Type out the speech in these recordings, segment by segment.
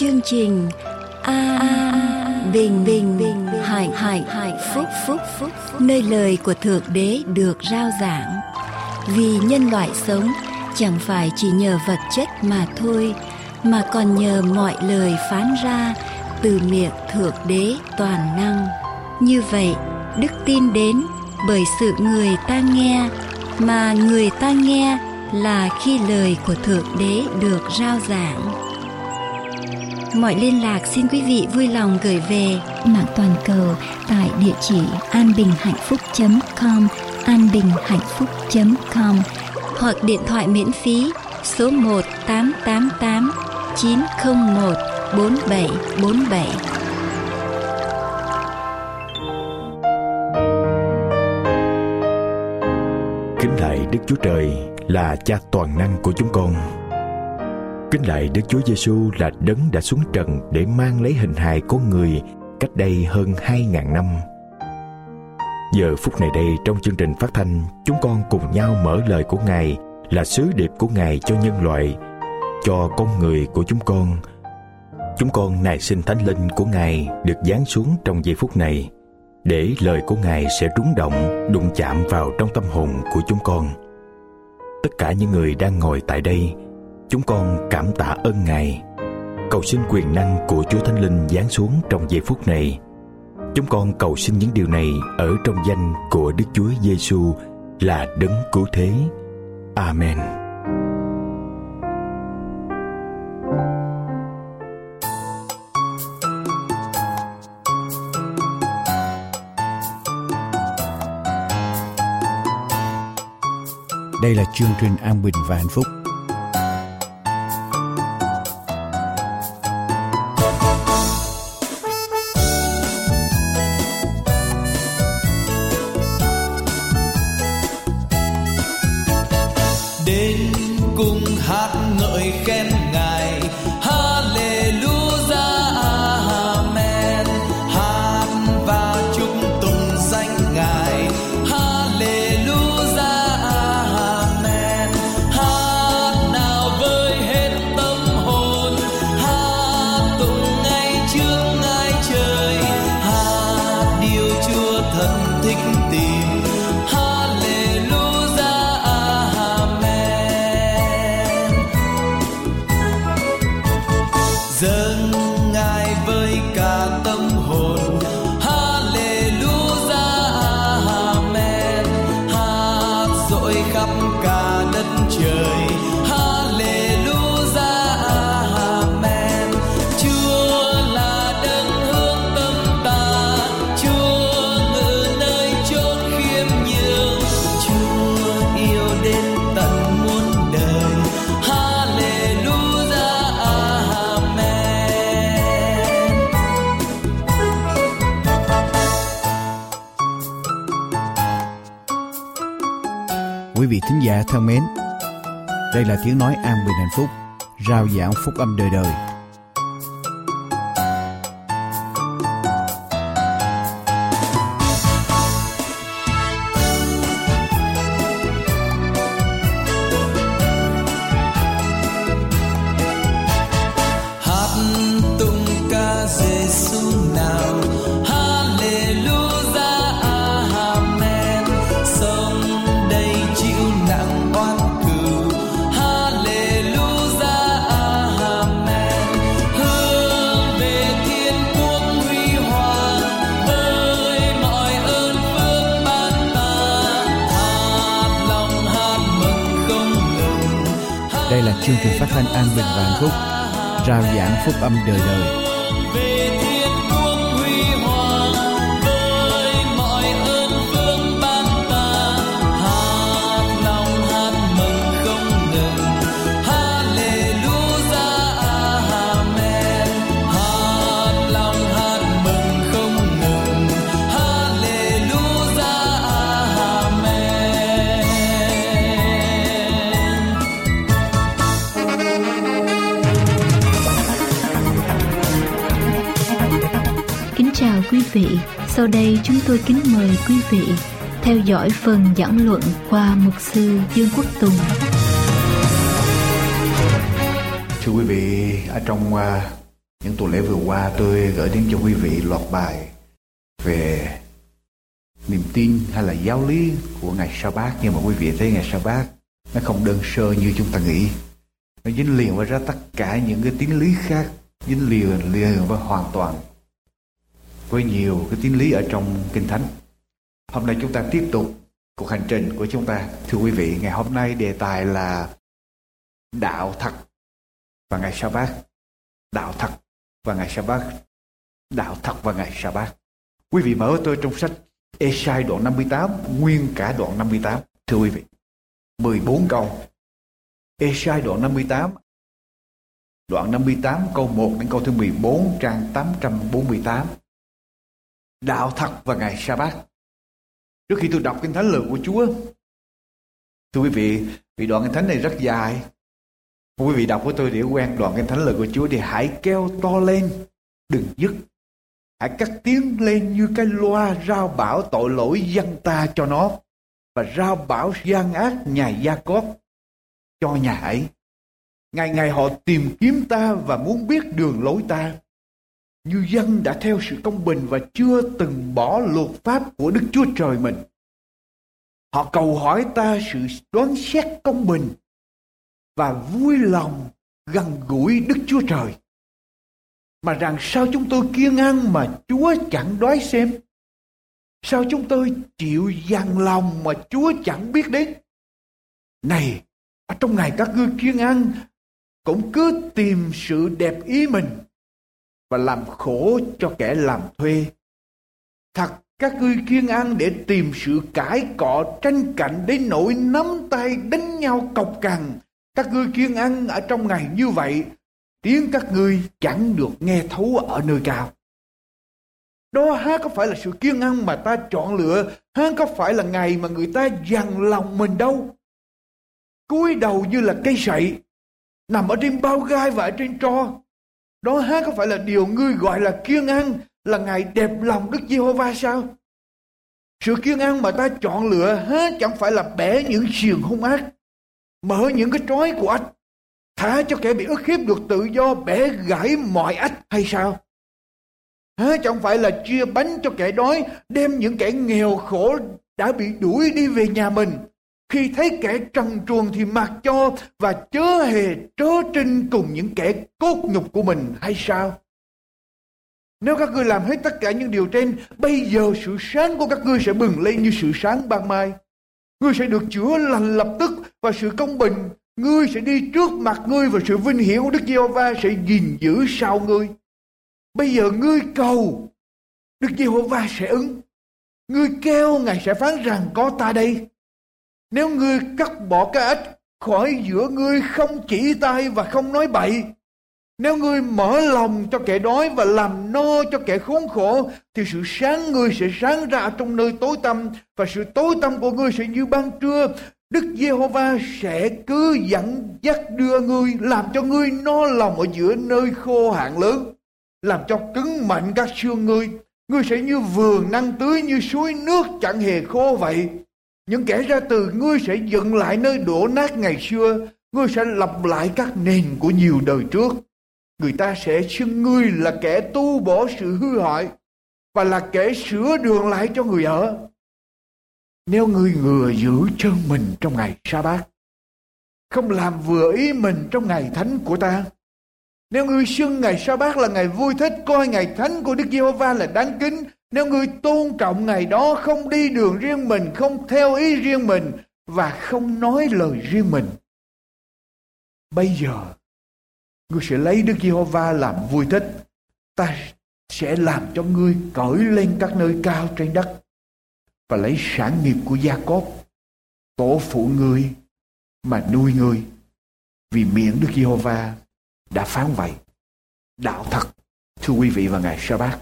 chương trình Bình hạnh phúc, nơi lời của Thượng Đế được rao giảng. Vì nhân loại sống chẳng phải chỉ nhờ vật chất mà thôi, mà còn nhờ mọi lời phán ra từ miệng Thượng Đế toàn năng. Như vậy, đức tin đến bởi sự người ta nghe, mà người ta nghe là khi lời của Thượng Đế được rao giảng. Mọi liên lạc xin quý vị vui lòng gửi về mạng toàn cầu tại địa chỉ anbinhhạnhphúc.com, anbinhhạnhphúc.com, hoặc điện thoại miễn phí số 1-888-901-4747. Kính lạy Đức Chúa Trời là Cha toàn năng của chúng con. Kính lạy Đức Chúa Giêsu là Đấng đã xuống trần để mang lấy hình hài con người cách đây hơn 2.000 năm. Giờ phút này đây, trong chương trình phát thanh, chúng con cùng nhau mở lời của Ngài là sứ điệp của Ngài cho nhân loại, cho con người của chúng con. Chúng con nài xin Thánh Linh của Ngài được giáng xuống trong giây phút này, để lời của Ngài sẽ rúng động, đụng chạm vào trong tâm hồn của chúng con. Tất cả những người đang ngồi tại đây, chúng con cảm tạ ơn Ngài. Cầu xin quyền năng của Chúa Thánh Linh giáng xuống trong giây phút này. Chúng con cầu xin những điều này ở trong danh của Đức Chúa Giêsu là Đấng Cứu Thế. Amen. Đây là chương trình An Bình và Hạnh Phúc. Đến cùng hát ngợi khen Ngài, Hallelujah, Amen. Hát và chúc tụng danh Ngài, Hallelujah, Amen. Hát nào với hết tâm hồn, hát tụng ngay trước ngai trời, hát điều Chúa thân thích tìm. Dâng Ngài với cả tâm hồn, Hallelujah, Amen. Hát dội khắp cả đất trời, Hallelujah, Amen. Chúa là đấng hướng tâm ta, Chúa ngự nơi chốn khiêm nhường, Chúa yêu đến tận muôn đời, Hallelujah. Quý vị thính giả thân mến, đây là tiếng nói an bình hạnh phúc, rao giảng phúc âm đời đời. Hát tụng ca Giêsu nào, Hallelujah, Amen. Sống đây chịu nặng oan cừu, Hallelujah, Amen. Hướng về thiên quốc huy hoàng, với mọi ơn phước ban ta, hát lòng hát mừng không ngừng. Đây là chương trình phát thanh an bình và hạnh phúc, rao giảng phúc âm đời đời. Về thiên quốc huy hoàng, với mọi ơn phước ban ta, hát lòng hát mừng không ngừng, Hallelujah, Amen. Hát lòng hát mừng không ngừng, Hallelujah, Amen. Kính chào quý vị. Sau đây chúng tôi kính mời quý vị theo dõi phần giảng luận qua mục sư Dương Quốc Tùng. Thưa quý vị, ở trong Những tuần lễ vừa qua tôi gửi đến cho quý vị loạt bài về niềm tin hay là giáo lý của ngày Sa-bát. Nhưng mà quý vị thấy ngày Sa-bát nó không đơn sơ như chúng ta nghĩ. Nó dính liền với ra tất cả những cái tín lý khác, dính liền với hoàn toàn với nhiều cái tín lý ở trong Kinh Thánh. Hôm nay chúng ta tiếp tục cuộc hành trình của chúng ta. Thưa quý vị, ngày hôm nay đề tài là đạo thật và ngày Sa-bát. Đạo thật và ngày Sa-bát. Đạo thật và ngày Sa-bát. Quý vị mở với tôi trong sách Ê-sai đoạn 58, nguyên cả đoạn 58. Thưa quý vị, 14 câu. Ê-sai đoạn 58, đoạn 58 câu 1 đến câu thứ 14, trang 848. Đạo thật và ngày Sa-bát. Trước khi tôi đọc Kinh Thánh lời của Chúa, thưa quý vị, vì đoạn Kinh Thánh này rất dài. Quý vị đọc với tôi để quen đoạn Kinh Thánh lời của Chúa thì hãy kêu to lên, đừng dứt. Hãy cất tiếng lên như cái loa rao bảo tội lỗi dân ta cho nó, và rao bảo gian ác nhà Gia-cốp cho nhà ấy. Ngày ngày họ tìm kiếm ta và muốn biết đường lối ta, như dân đã theo sự công bình và chưa từng bỏ luật pháp của Đức Chúa Trời mình. Họ cầu hỏi ta sự đoán xét công bình và vui lòng gần gũi Đức Chúa Trời. Mà rằng sao chúng tôi kiêng ăn mà Chúa chẳng đoái xem? Sao chúng tôi chịu dằn lòng mà Chúa chẳng biết đến? Này, ở trong ngày các ngươi kiêng ăn, cũng cứ tìm sự đẹp ý mình và làm khổ cho kẻ làm thuê. Thật các ngươi kiêng ăn để tìm sự cãi cọ tranh cạnh đến nỗi nắm tay đánh nhau cộc cằn. Các ngươi kiêng ăn ở trong ngày như vậy, tiếng các ngươi chẳng được nghe thấu ở nơi cao. Đó há có phải là sự kiêng ăn mà ta chọn lựa, há có phải là ngày mà người ta dằn lòng mình đâu. Cúi đầu như là cây sậy, nằm ở trên bao gai và ở trên tro. Đó há có phải là điều ngươi gọi là kiêng ăn, là ngày đẹp lòng Đức Giê-hô-va sao? Sự kiêng ăn mà ta chọn lựa há chẳng phải là bẻ những xiềng hung ác, mở những cái trói của ách, thả cho kẻ bị ức hiếp được tự do, bẻ gãy mọi ách hay sao? Há chẳng phải là chia bánh cho kẻ đói, đem những kẻ nghèo khổ đã bị đuổi đi về nhà mình. Khi thấy kẻ trần truồng thì mặc cho, và chớ hề trớ trinh cùng những kẻ cốt nhục của mình hay sao? Nếu các ngươi làm hết tất cả những điều trên, bây giờ sự sáng của các ngươi sẽ bừng lên như sự sáng ban mai. Ngươi sẽ được chữa lành lập tức, và sự công bình ngươi sẽ đi trước mặt ngươi, và sự vinh hiển của Đức Giê-hô-va sẽ gìn giữ sau ngươi. Bây giờ ngươi cầu, Đức Giê-hô-va sẽ ứng. Ngươi kêu, Ngài sẽ phán rằng có ta đây. Nếu ngươi cắt bỏ cái ách khỏi giữa ngươi, không chỉ tay và không nói bậy, nếu ngươi mở lòng cho kẻ đói và làm no cho kẻ khốn khổ, thì sự sáng ngươi sẽ sáng ra trong nơi tối tăm, và sự tối tăm của ngươi sẽ như ban trưa. Đức Giê-hô-va sẽ cứ dẫn dắt đưa ngươi, làm cho ngươi no lòng ở giữa nơi khô hạn lớn, làm cho cứng mạnh các xương ngươi. Ngươi sẽ như vườn năng tưới, như suối nước chẳng hề khô vậy. Những kẻ ra từ ngươi sẽ dựng lại nơi đổ nát ngày xưa, ngươi sẽ lập lại các nền của nhiều đời trước. Người ta sẽ xưng ngươi là kẻ tu bổ sự hư hại, và là kẻ sửa đường lại cho người ở. Nếu ngươi ngừa giữ chân mình trong ngày Sa-bát, không làm vừa ý mình trong ngày thánh của ta, nếu ngươi xưng ngày Sa-bát là ngày vui thích, coi ngày thánh của Đức Giê-hô-va là đáng kính, nếu ngươi tôn trọng ngày đó, không đi đường riêng mình, không theo ý riêng mình, và không nói lời riêng mình, bây giờ ngươi sẽ lấy Đức Giê-hô-va làm vui thích. Ta sẽ làm cho ngươi cởi lên các nơi cao trên đất, và lấy sản nghiệp của Gia-cốp, tổ phụ ngươi, mà nuôi ngươi, vì miệng Đức Giê-hô-va đã phán vậy. Đạo thật, thưa quý vị, vào ngày Sa-bát.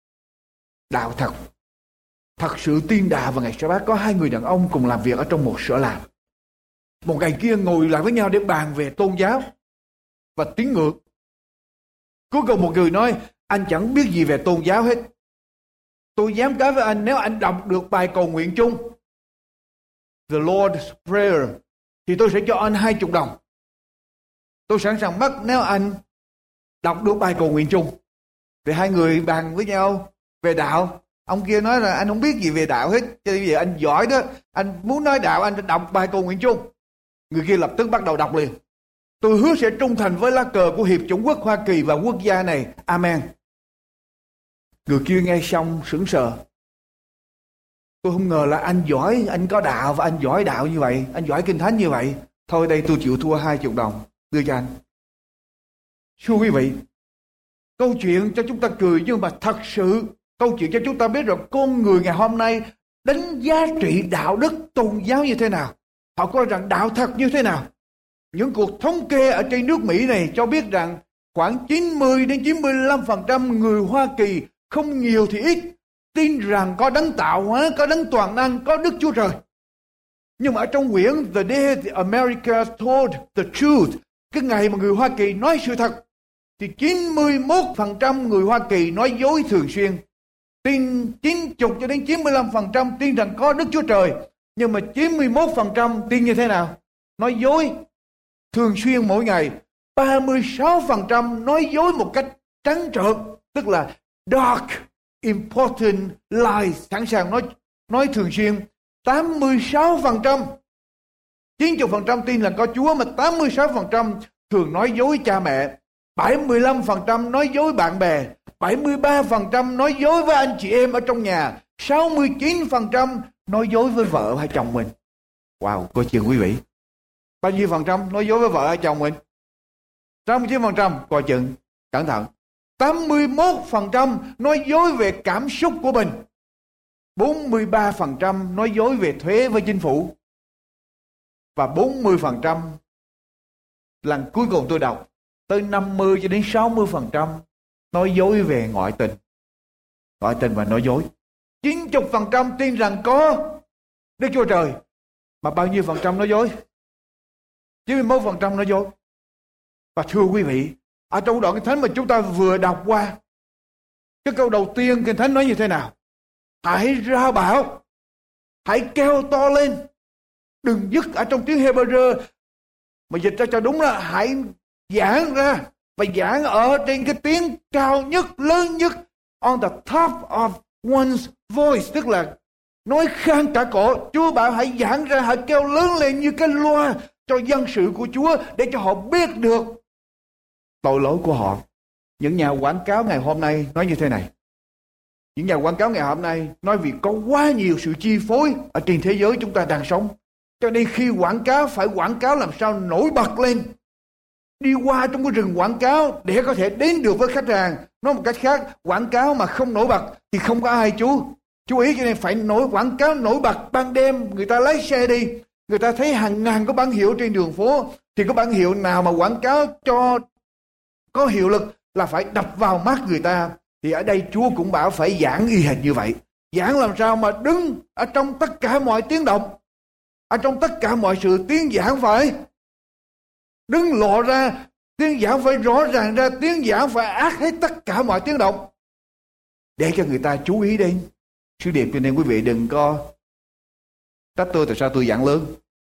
Đạo thật. Thật sự tiên đà vào ngày Sa-bát. Có hai người đàn ông cùng làm việc ở trong một sở làm. Một ngày kia ngồi lại với nhau để bàn về tôn giáo và tín ngưỡng. Cuối cùng một người nói, anh chẳng biết gì về tôn giáo hết. Tôi dám cá với anh, nếu anh đọc được bài cầu nguyện chung, The Lord's Prayer, thì tôi sẽ cho anh 20 đồng. Tôi sẵn sàng mất nếu anh đọc được bài cầu nguyện chung. Thì hai người bàn với nhau về đạo. Ông kia nói là anh không biết gì về đạo hết, cho nên bây giờ anh giỏi đó, anh muốn nói đạo anh đọc bài cầu nguyện chung. Người kia lập tức bắt đầu đọc liền. Tôi hứa sẽ trung thành với lá cờ của Hiệp chủng quốc Hoa Kỳ và quốc gia này. Amen. Người kia nghe xong sững sờ. Tôi không ngờ là anh giỏi, anh có đạo và anh giỏi đạo như vậy, anh giỏi kinh thánh như vậy. Thôi đây tôi chịu thua 20 đồng, đưa cho anh. Thưa quý vị, câu chuyện cho chúng ta cười, nhưng mà thật sự câu chuyện cho chúng ta biết rằng con người ngày hôm nay đánh giá trị đạo đức tôn giáo như thế nào. Họ coi rằng đạo thật như thế nào. Những cuộc thống kê ở trên nước Mỹ này cho biết rằng khoảng 90 đến 95% người Hoa Kỳ, không nhiều thì ít, tin rằng có đấng tạo hóa, có đấng toàn năng, có Đức Chúa Trời. Nhưng mà ở trong quyển The Day America Told the Truth, cái ngày mà người Hoa Kỳ nói sự thật, thì 91% người Hoa Kỳ nói dối thường xuyên. Tin 90 cho đến 95% tin rằng có Đức Chúa Trời. Nhưng mà 91% tin như thế nào? Nói dối thường xuyên mỗi ngày. 36% nói dối một cách trắng trợn, tức là dark, important lies, sẵn sàng nói thường xuyên. 86%, 90% tin là có Chúa, mà 86% thường nói dối cha mẹ. 75% nói dối bạn bè, 73% nói dối với anh chị em ở trong nhà, 69% nói dối với vợ hay chồng mình. Wow, coi chừng quý vị. Bao nhiêu phần trăm nói dối với vợ hay chồng mình? 69%, coi chừng, cẩn thận. 81% nói dối về cảm xúc của mình. 43% nói dối về thuế với chính phủ. Và 40%, lần cuối cùng tôi đọc, tới 50 cho đến 60% nói dối về ngoại tình. Ngoại tình và nói dối. 90% tin rằng có Đức Chúa Trời. Mà bao nhiêu phần trăm nói dối? 91% nói dối. Và thưa quý vị, ở trong đoạn Kinh Thánh mà chúng ta vừa đọc qua, cái câu đầu tiên Kinh Thánh nói như thế nào? Hãy rao bảo, hãy kêu to lên, đừng dứt. Ở trong tiếng Hebrew mà dịch ra cho đúng là hãy giảng ra, và giảng ở trên cái tiếng cao nhất, lớn nhất, on the top of one's voice, tức là nói khan cả cổ. Chúa bảo hãy giảng ra, hãy kêu lớn lên như cái loa cho dân sự của Chúa, để cho họ biết được tội lỗi của họ. Những nhà quảng cáo ngày hôm nay nói như thế này. Những nhà quảng cáo ngày hôm nay nói vì có quá nhiều sự chi phối ở trên thế giới chúng ta đang sống, cho nên khi quảng cáo phải quảng cáo làm sao nổi bật lên, đi qua trong cái rừng quảng cáo để có thể đến được với khách hàng. Nói một cách khác, quảng cáo mà không nổi bật thì không có ai chú ý, cho nên phải quảng cáo nổi bật. Ban đêm người ta lái xe đi, người ta thấy hàng ngàn có bản hiệu trên đường phố, thì có bản hiệu nào mà quảng cáo cho có hiệu lực là phải đập vào mắt người ta. Thì ở đây Chúa cũng bảo phải giảng y hệt như vậy. Giảng làm sao mà đứng ở trong tất cả mọi tiếng động, ở trong tất cả mọi sự, tiếng giảng phải đứng lộ ra, tiếng giảng phải rõ ràng ra, tiếng giảng phải át hết tất cả mọi tiếng động, để cho người ta chú ý đến sứ điệp. Cho nên quý vị đừng có trách tôi tại sao tôi giảng lớn,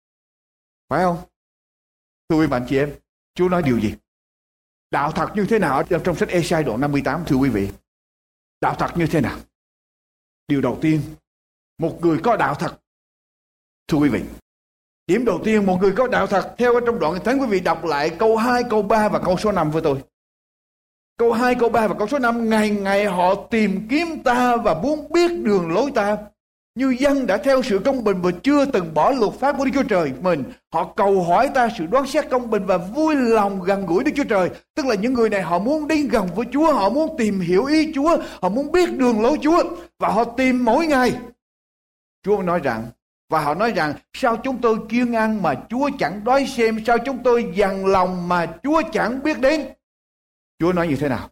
phải không? Thưa quý bạn chị em, Chúa nói điều gì? Đạo thật như thế nào? Trong sách Ê-sai đoạn 58, thưa quý vị, đạo thật như thế nào? Điều đầu tiên, một người có đạo thật. Thưa quý vị, điểm đầu tiên, một người có đạo thật, theo trong đoạn Kinh Thánh, quý vị đọc lại câu 2, câu 3 và câu số 5 với tôi. Câu 2, câu 3 và câu số 5. Ngày ngày họ tìm kiếm ta và muốn biết đường lối ta, như dân đã theo sự công bình và chưa từng bỏ luật pháp của Đức Chúa Trời mình. Họ cầu hỏi ta sự đoán xét công bình và vui lòng gần gũi Đức Chúa Trời. Tức là những người này họ muốn đi gần với Chúa, họ muốn tìm hiểu ý Chúa, họ muốn biết đường lối Chúa, và họ tìm mỗi ngày. Chúa nói rằng, và họ nói rằng, sao chúng tôi kiêng ăn mà Chúa chẳng đói xem, sao chúng tôi dằn lòng mà Chúa chẳng biết đến. Chúa nói như thế nào?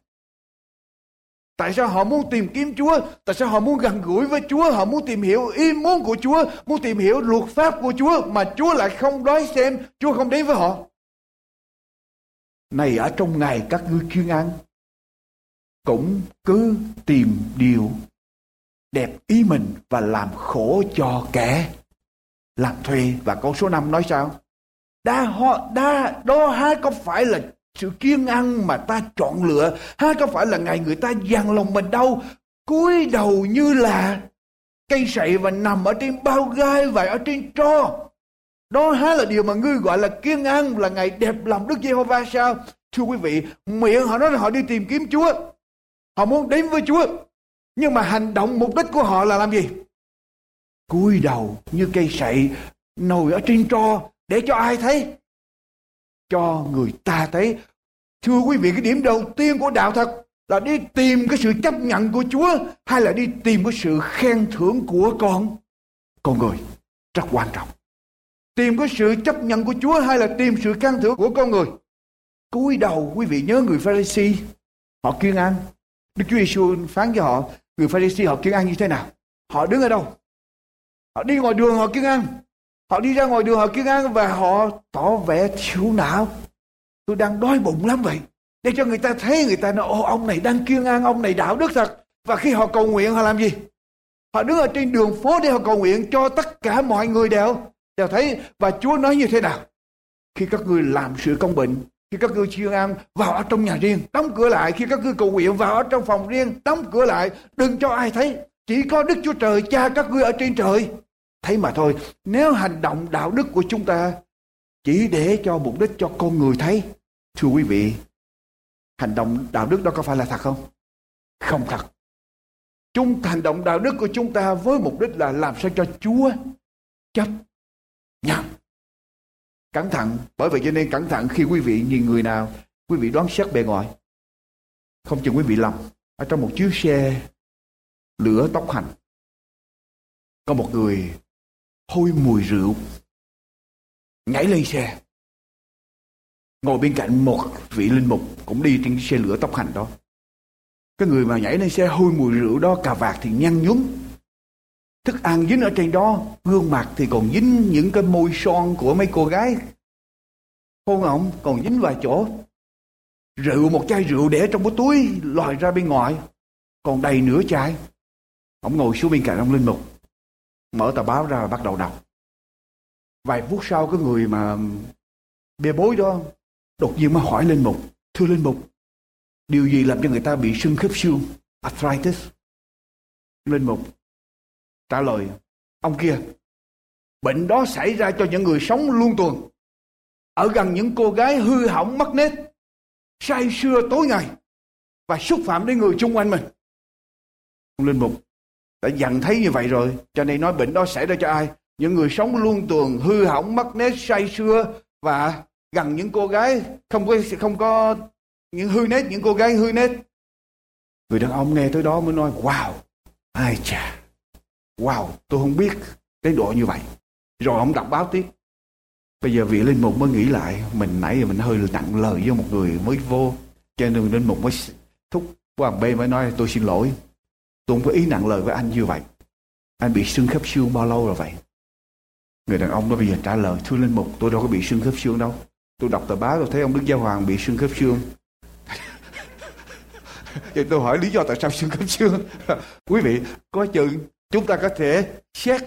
Tại sao họ muốn tìm kiếm Chúa? Tại sao họ muốn gần gũi với Chúa? Họ muốn tìm hiểu ý muốn của Chúa, muốn tìm hiểu luật pháp của Chúa, mà Chúa lại không đói xem, Chúa không đến với họ. Này, ở trong ngày các ngươi kiêng ăn, cũng cứ tìm điều đẹp ý mình và làm khổ cho kẻ làm thuê. Và câu số 5 nói sao? Đó há có phải là sự kiêng ăn mà ta chọn lựa, ha, có phải là ngày người ta dằn lòng mình đâu, cúi đầu như là cây sậy và nằm ở trên bao gai và ở trên tro. Đó há là điều mà ngươi gọi là kiêng ăn, là ngày đẹp lòng Đức Giê-hô-va sao? Thưa quý vị, miệng họ nói là họ đi tìm kiếm Chúa, họ muốn đến với Chúa, nhưng mà hành động mục đích của họ là làm gì? Cúi đầu như cây sậy, ngồi ở trên tro để cho ai thấy? Cho người ta thấy. Thưa quý vị, cái điểm đầu tiên của đạo thật là đi tìm cái sự chấp nhận của Chúa, hay là đi tìm cái sự khen thưởng của con người? Rất quan trọng. Tìm cái sự chấp nhận của Chúa hay là tìm sự khen thưởng của con người? Cúi đầu, quý vị nhớ người Pha-ri-si, họ kiêng ăn. Đức Chúa Giêsu phán cho họ, người Pha-ri-si họ kiêng ăn như thế nào? Họ đứng ở đâu? Họ đi ngoài đường họ kiêng ăn. Họ đi ra ngoài đường họ kiêng ăn và họ tỏ vẻ thiểu não. Tôi đang đói bụng lắm vậy. Để cho người ta thấy, người ta nói, ồ, ông này đang kiêng ăn, ông này đạo đức thật. Và khi họ cầu nguyện họ làm gì? Họ đứng ở trên đường phố để họ cầu nguyện cho tất cả mọi người đều thấy. Và Chúa nói như thế nào? Khi các ngươi làm sự công bình, khi các ngươi kiêng ăn, vào ở trong nhà riêng, đóng cửa lại. Khi các ngươi cầu nguyện, vào ở trong phòng riêng, đóng cửa lại, đừng cho ai thấy. Chỉ có Đức Chúa Trời, Cha các ngươi ở trên trời thấy mà thôi. Nếu hành động đạo đức của chúng ta chỉ để cho mục đích cho con người thấy, thưa quý vị, hành động đạo đức đó có phải là thật không? Không thật. Hành động đạo đức của chúng ta với mục đích là làm sao cho Chúa chấp nhận. Cẩn thận, bởi vậy cho nên cẩn thận khi quý vị nhìn người nào, quý vị đoán xét bề ngoài. Không chừng quý vị lầm. Ở trong một chiếc xe lửa tốc hành, có một người hôi mùi rượu nhảy lên xe, ngồi bên cạnh một vị linh mục cũng đi trên xe lửa tốc hành đó. Cái người mà nhảy lên xe hôi mùi rượu đó, cà vạt thì nhăn nhúm, thức ăn dính ở trên đó, gương mặt thì còn dính những cái môi son của mấy cô gái hôn ổng còn dính vài chỗ. Rượu, một chai rượu để trong cái túi lòi ra bên ngoài còn đầy nửa chai. Ông ngồi xuống bên cạnh ông linh mục, mở tờ báo ra và bắt đầu đọc. Vài phút sau, cái người mà bê bối đó đột nhiên mới hỏi linh mục, thưa linh mục, điều gì làm cho người ta bị sưng khớp xương, arthritis? Linh mục trả lời, ông kia, bệnh đó xảy ra cho những người sống luôn tuần ở gần những cô gái hư hỏng mất nết, say sưa tối ngày và xúc phạm đến người xung quanh mình. Ông linh mục đã dặn thấy như vậy rồi, cho nên nói bệnh đó xảy ra cho ai? Những người sống luôn tuần, hư hỏng mất nết, say sưa và gần những cô gái không có những hư nết, những cô gái hư nết. Người đàn ông nghe tới đó mới nói, wow, ai chà, wow, tôi không biết đến độ như vậy. Rồi ông đọc báo tiếp. Bây giờ vị linh mục mới nghĩ lại, mình nãy giờ mình hơi nặng lời với một người mới vô, cho nên linh mục mới thúc qua B mới nói, tôi xin lỗi, tôi không có ý nặng lời với anh như vậy. Anh bị sưng khớp xương bao lâu rồi vậy? Người đàn ông đó bây giờ trả lời, thưa linh mục, tôi đâu có bị sưng khớp xương đâu. Tôi đọc tờ báo tôi thấy ông Đức Giáo Hoàng bị sưng khớp xương. Vậy tôi hỏi lý do tại sao sưng khớp xương? Quý vị, có chừng chúng ta có thể xét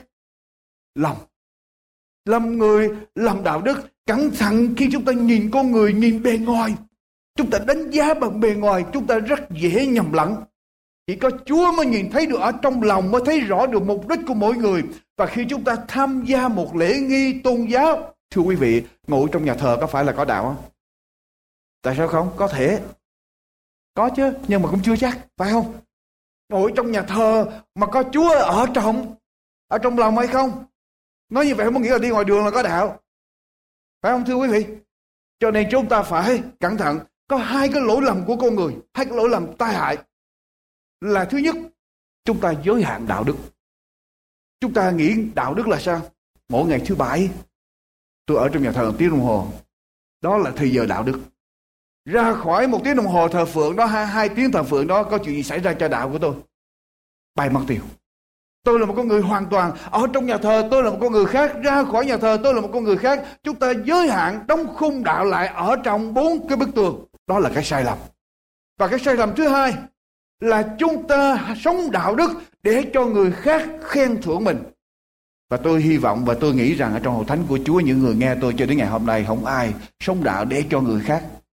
làm người, làm đạo đức. Cẩn thận khi chúng ta nhìn con người, nhìn bề ngoài. Chúng ta đánh giá bằng bề ngoài, chúng ta rất dễ nhầm lẫn. Chỉ có Chúa mới nhìn thấy được ở trong lòng, mới thấy rõ được mục đích của mỗi người. Và khi chúng ta tham gia một lễ nghi tôn giáo, thưa quý vị, ngồi trong nhà thờ có phải là có đạo không? Tại sao không? Có thể. Có chứ, nhưng mà cũng chưa chắc, phải không? Ngồi trong nhà thờ mà có Chúa ở trong lòng hay không? Nói như vậy không có nghĩa là đi ngoài đường là có đạo. Phải không thưa quý vị? Cho nên chúng ta phải cẩn thận. Có hai cái lỗi lầm của con người, hai cái lỗi lầm tai hại. Là thứ nhất, chúng ta giới hạn đạo đức. Chúng ta nghĩ đạo đức là sao? Mỗi ngày thứ Bảy tôi ở trong nhà thờ 1 tiếng đồng hồ, đó là thời giờ đạo đức. Ra khỏi 1 tiếng đồng hồ thờ phượng đó, 2 tiếng thờ phượng đó, có chuyện gì xảy ra cho đạo của tôi? Bay mất tiêu. Tôi là một con người hoàn toàn, ở trong nhà thờ tôi là một con người khác, ra khỏi nhà thờ tôi là một con người khác. Chúng ta giới hạn đóng khung đạo lại ở trong 4 cái bức tường. Đó là cái sai lầm. Và cái sai lầm thứ hai là chúng ta sống đạo đức để cho người khác khen thưởng mình. Và tôi hy vọng và tôi nghĩ rằng ở trong hội thánh của Chúa, những người nghe tôi cho đến ngày hôm nay, không ai sống đạo để cho người khác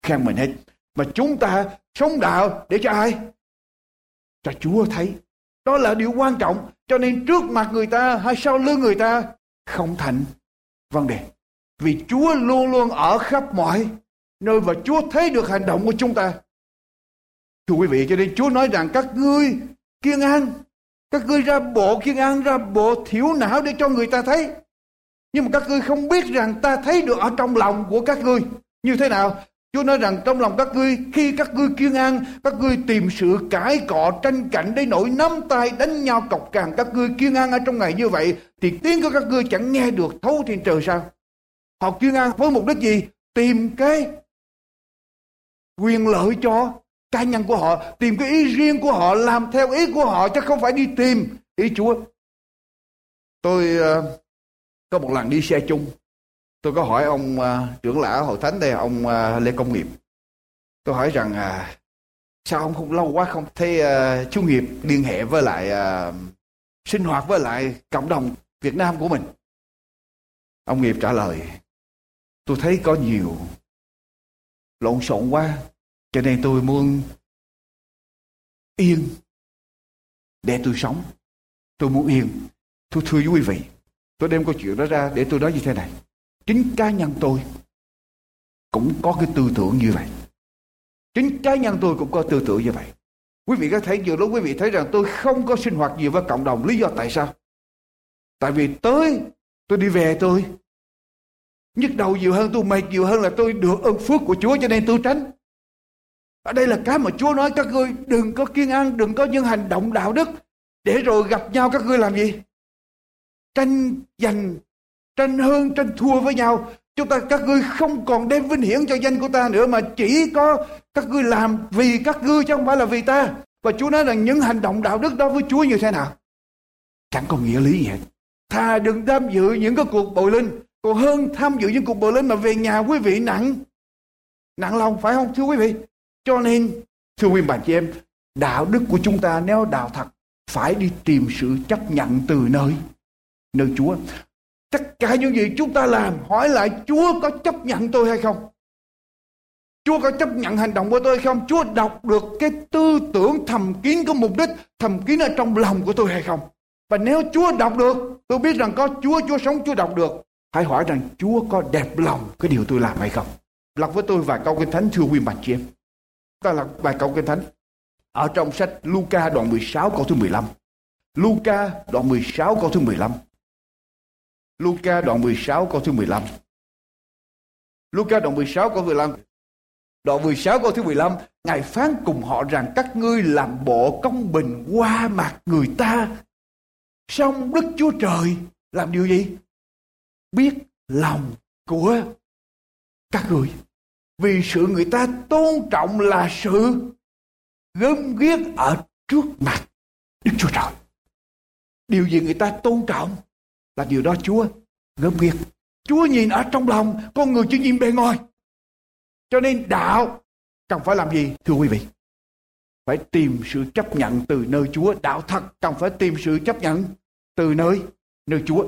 khen mình hết. Mà chúng ta sống đạo để cho ai? Cho Chúa thấy. Đó là điều quan trọng. Cho nên trước mặt người ta hay sau lưng người ta không thành vấn đề. Vì Chúa luôn luôn ở khắp mọi nơi và Chúa thấy được hành động của chúng ta. Thưa quý vị, cho nên Chúa nói rằng các ngươi kiêng ăn, các ngươi ra bộ kiêng ăn, ra bộ thiểu não để cho người ta thấy. Nhưng mà các ngươi không biết rằng ta thấy được ở trong lòng của các ngươi. Như thế nào? Chúa nói rằng trong lòng các ngươi, khi các ngươi kiêng ăn, các ngươi tìm sự cãi cọ tranh cạnh đến nỗi nắm tay đánh nhau cọc cằn. Các ngươi kiêng ăn ở trong ngày như vậy thì tiếng của các ngươi chẳng nghe được thấu trên trời sao? Họ kiêng ăn với mục đích gì? Tìm cái quyền lợi cho cá nhân của họ, tìm cái ý riêng của họ, làm theo ý của họ chứ không phải đi tìm ý Chúa. Tôi có một lần đi xe chung, tôi có hỏi ông trưởng lão hội thánh đây, ông Lê Công Nghiệp. Tôi hỏi rằng sao ông không lâu quá không thấy chú Nghiệp liên hệ với lại sinh hoạt với lại cộng đồng Việt Nam của mình. Ông Nghiệp trả lời, tôi thấy có nhiều lộn xộn quá, cho nên tôi muốn yên để tôi sống. Tôi muốn yên. Tôi thưa với quý vị, tôi đem câu chuyện đó ra để tôi nói như thế này. Chính cá nhân tôi cũng có cái tư tưởng như vậy. Chính cá nhân tôi cũng có tư tưởng như vậy. Quý vị có thấy nhiều lúc quý vị thấy rằng tôi không có sinh hoạt nhiều với cộng đồng. Lý do tại sao? Tại vì tôi đi về tôi nhức đầu nhiều hơn, tôi mệt nhiều hơn là tôi được ơn phước của Chúa, cho nên tôi tránh. Ở đây là cái mà Chúa nói các ngươi đừng có kiêng ăn, đừng có những hành động đạo đức, để rồi gặp nhau các ngươi làm gì? Tranh giành, tranh hơn, tranh thua với nhau. Các ngươi không còn đem vinh hiển cho danh của ta nữa, mà chỉ có các ngươi làm vì các ngươi chứ không phải là vì ta. Và Chúa nói rằng những hành động đạo đức đó với Chúa như thế nào? Chẳng có nghĩa lý gì hết. Thà đừng tham dự những cái cuộc bồi linh, còn hơn tham dự những cuộc bồi linh mà về nhà quý vị nặng lòng, phải không thưa quý vị? Cho nên thưa quý bà chị em, đạo đức của chúng ta nếu đạo thật phải đi tìm sự chấp nhận từ nơi Chúa. Tất cả những gì chúng ta làm, hỏi lại Chúa có chấp nhận tôi hay không? Chúa có chấp nhận hành động của tôi hay không? Chúa đọc được cái tư tưởng thầm kín, có mục đích thầm kín ở trong lòng của tôi hay không? Và nếu Chúa đọc được, tôi biết rằng có Chúa sống, Chúa đọc được. Hãy hỏi rằng Chúa có đẹp lòng cái điều tôi làm hay không? Đọc với tôi vài câu Kinh Thánh thưa quý bà chị em. Ta là vài câu Kinh Thánh ở trong sách Luca đoạn 16 câu thứ 15. Luca đoạn 16 câu thứ 15. Luca đoạn 16 câu thứ 15. Luca đoạn 16 câu 15. Đoạn 16 câu thứ 15, Ngài phán cùng họ rằng các ngươi làm bộ công bình qua mặt người ta, song Đức Chúa Trời làm điều gì? Biết lòng của các ngươi. Vì sự người ta tôn trọng là sự gớm ghiếc ở trước mặt Đức Chúa Trời. Điều gì người ta tôn trọng là điều đó Chúa gớm ghiếc. Chúa nhìn ở trong lòng, con người chỉ nhìn bề ngoài. Cho nên đạo cần phải làm gì thưa quý vị? Phải tìm sự chấp nhận từ nơi Chúa. Đạo thật cần phải tìm sự chấp nhận từ nơi Chúa.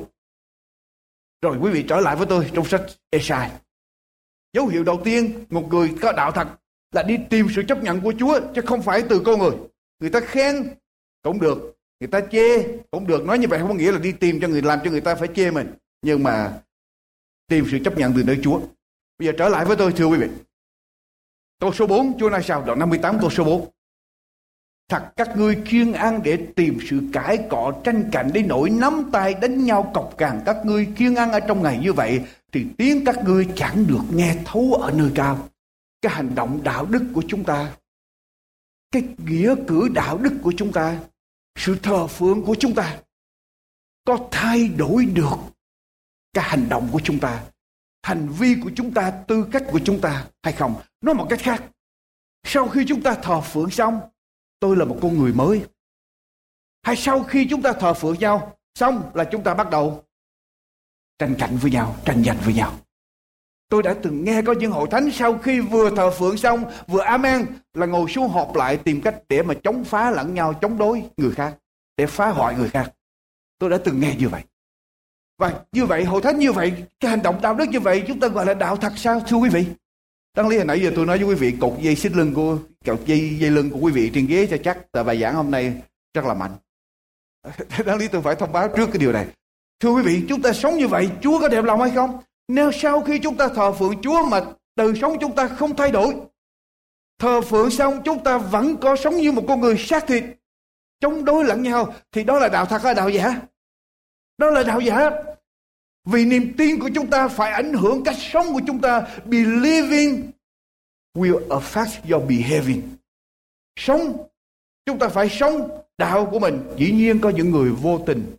Rồi quý vị trở lại với tôi trong sách Ê-sai. Dấu hiệu đầu tiên một người có đạo thật là đi tìm sự chấp nhận của Chúa, chứ không phải từ con người. Người ta khen cũng được, người ta chê cũng được. Nói như vậy không có nghĩa là đi tìm cho người, làm cho người ta phải chê mình, nhưng mà tìm sự chấp nhận từ nơi Chúa. Bây giờ trở lại với tôi thưa quý vị. Câu số 4 Chúa nói sao? Đoạn 58 câu số 4. Thật các ngươi kiêng ăn để tìm sự cãi cọ tranh cạnh đến nỗi nắm tay đánh nhau cọc cằn. Các ngươi kiêng ăn ở trong ngày như vậy thì tiếng các ngươi chẳng được nghe thấu ở nơi cao. Cái hành động đạo đức của chúng ta, cái nghĩa cử đạo đức của chúng ta, sự thờ phượng của chúng ta có thay đổi được cái hành động của chúng ta, hành vi của chúng ta, tư cách của chúng ta hay không? Nói một cách khác, sau khi chúng ta thờ phượng xong, tôi là một con người mới. Hay sau khi chúng ta thờ phượng nhau xong là chúng ta bắt đầu tranh cạnh với nhau, tranh giành với nhau. Tôi đã từng nghe có những hội thánh sau khi vừa thờ phượng xong, vừa amen là ngồi xuống họp lại tìm cách để mà chống phá lẫn nhau, chống đối người khác, để phá hoại người khác. Tôi đã từng nghe như vậy. Và như vậy, hội thánh như vậy, cái hành động đạo đức như vậy chúng ta gọi là đạo thật sao thưa quý vị? Đáng lý hồi nãy giờ tôi nói với quý vị cột dây lưng của quý vị trên ghế cho chắc, tại bài giảng hôm nay rất là mạnh. Đáng lý tôi phải thông báo trước cái điều này. Thưa quý vị, chúng ta sống như vậy, Chúa có đẹp lòng hay không? Nếu sau khi chúng ta thờ phượng Chúa mà đời sống chúng ta không thay đổi, thờ phượng xong chúng ta vẫn có sống như một con người xác thịt, chống đối lẫn nhau, thì đó là đạo thật hay đạo giả? Đó là đạo giả. Vì niềm tin của chúng ta phải ảnh hưởng cách sống của chúng ta. Believing will affect your behaving. Sống, chúng ta phải sống đạo của mình. Dĩ nhiên có những người vô tình.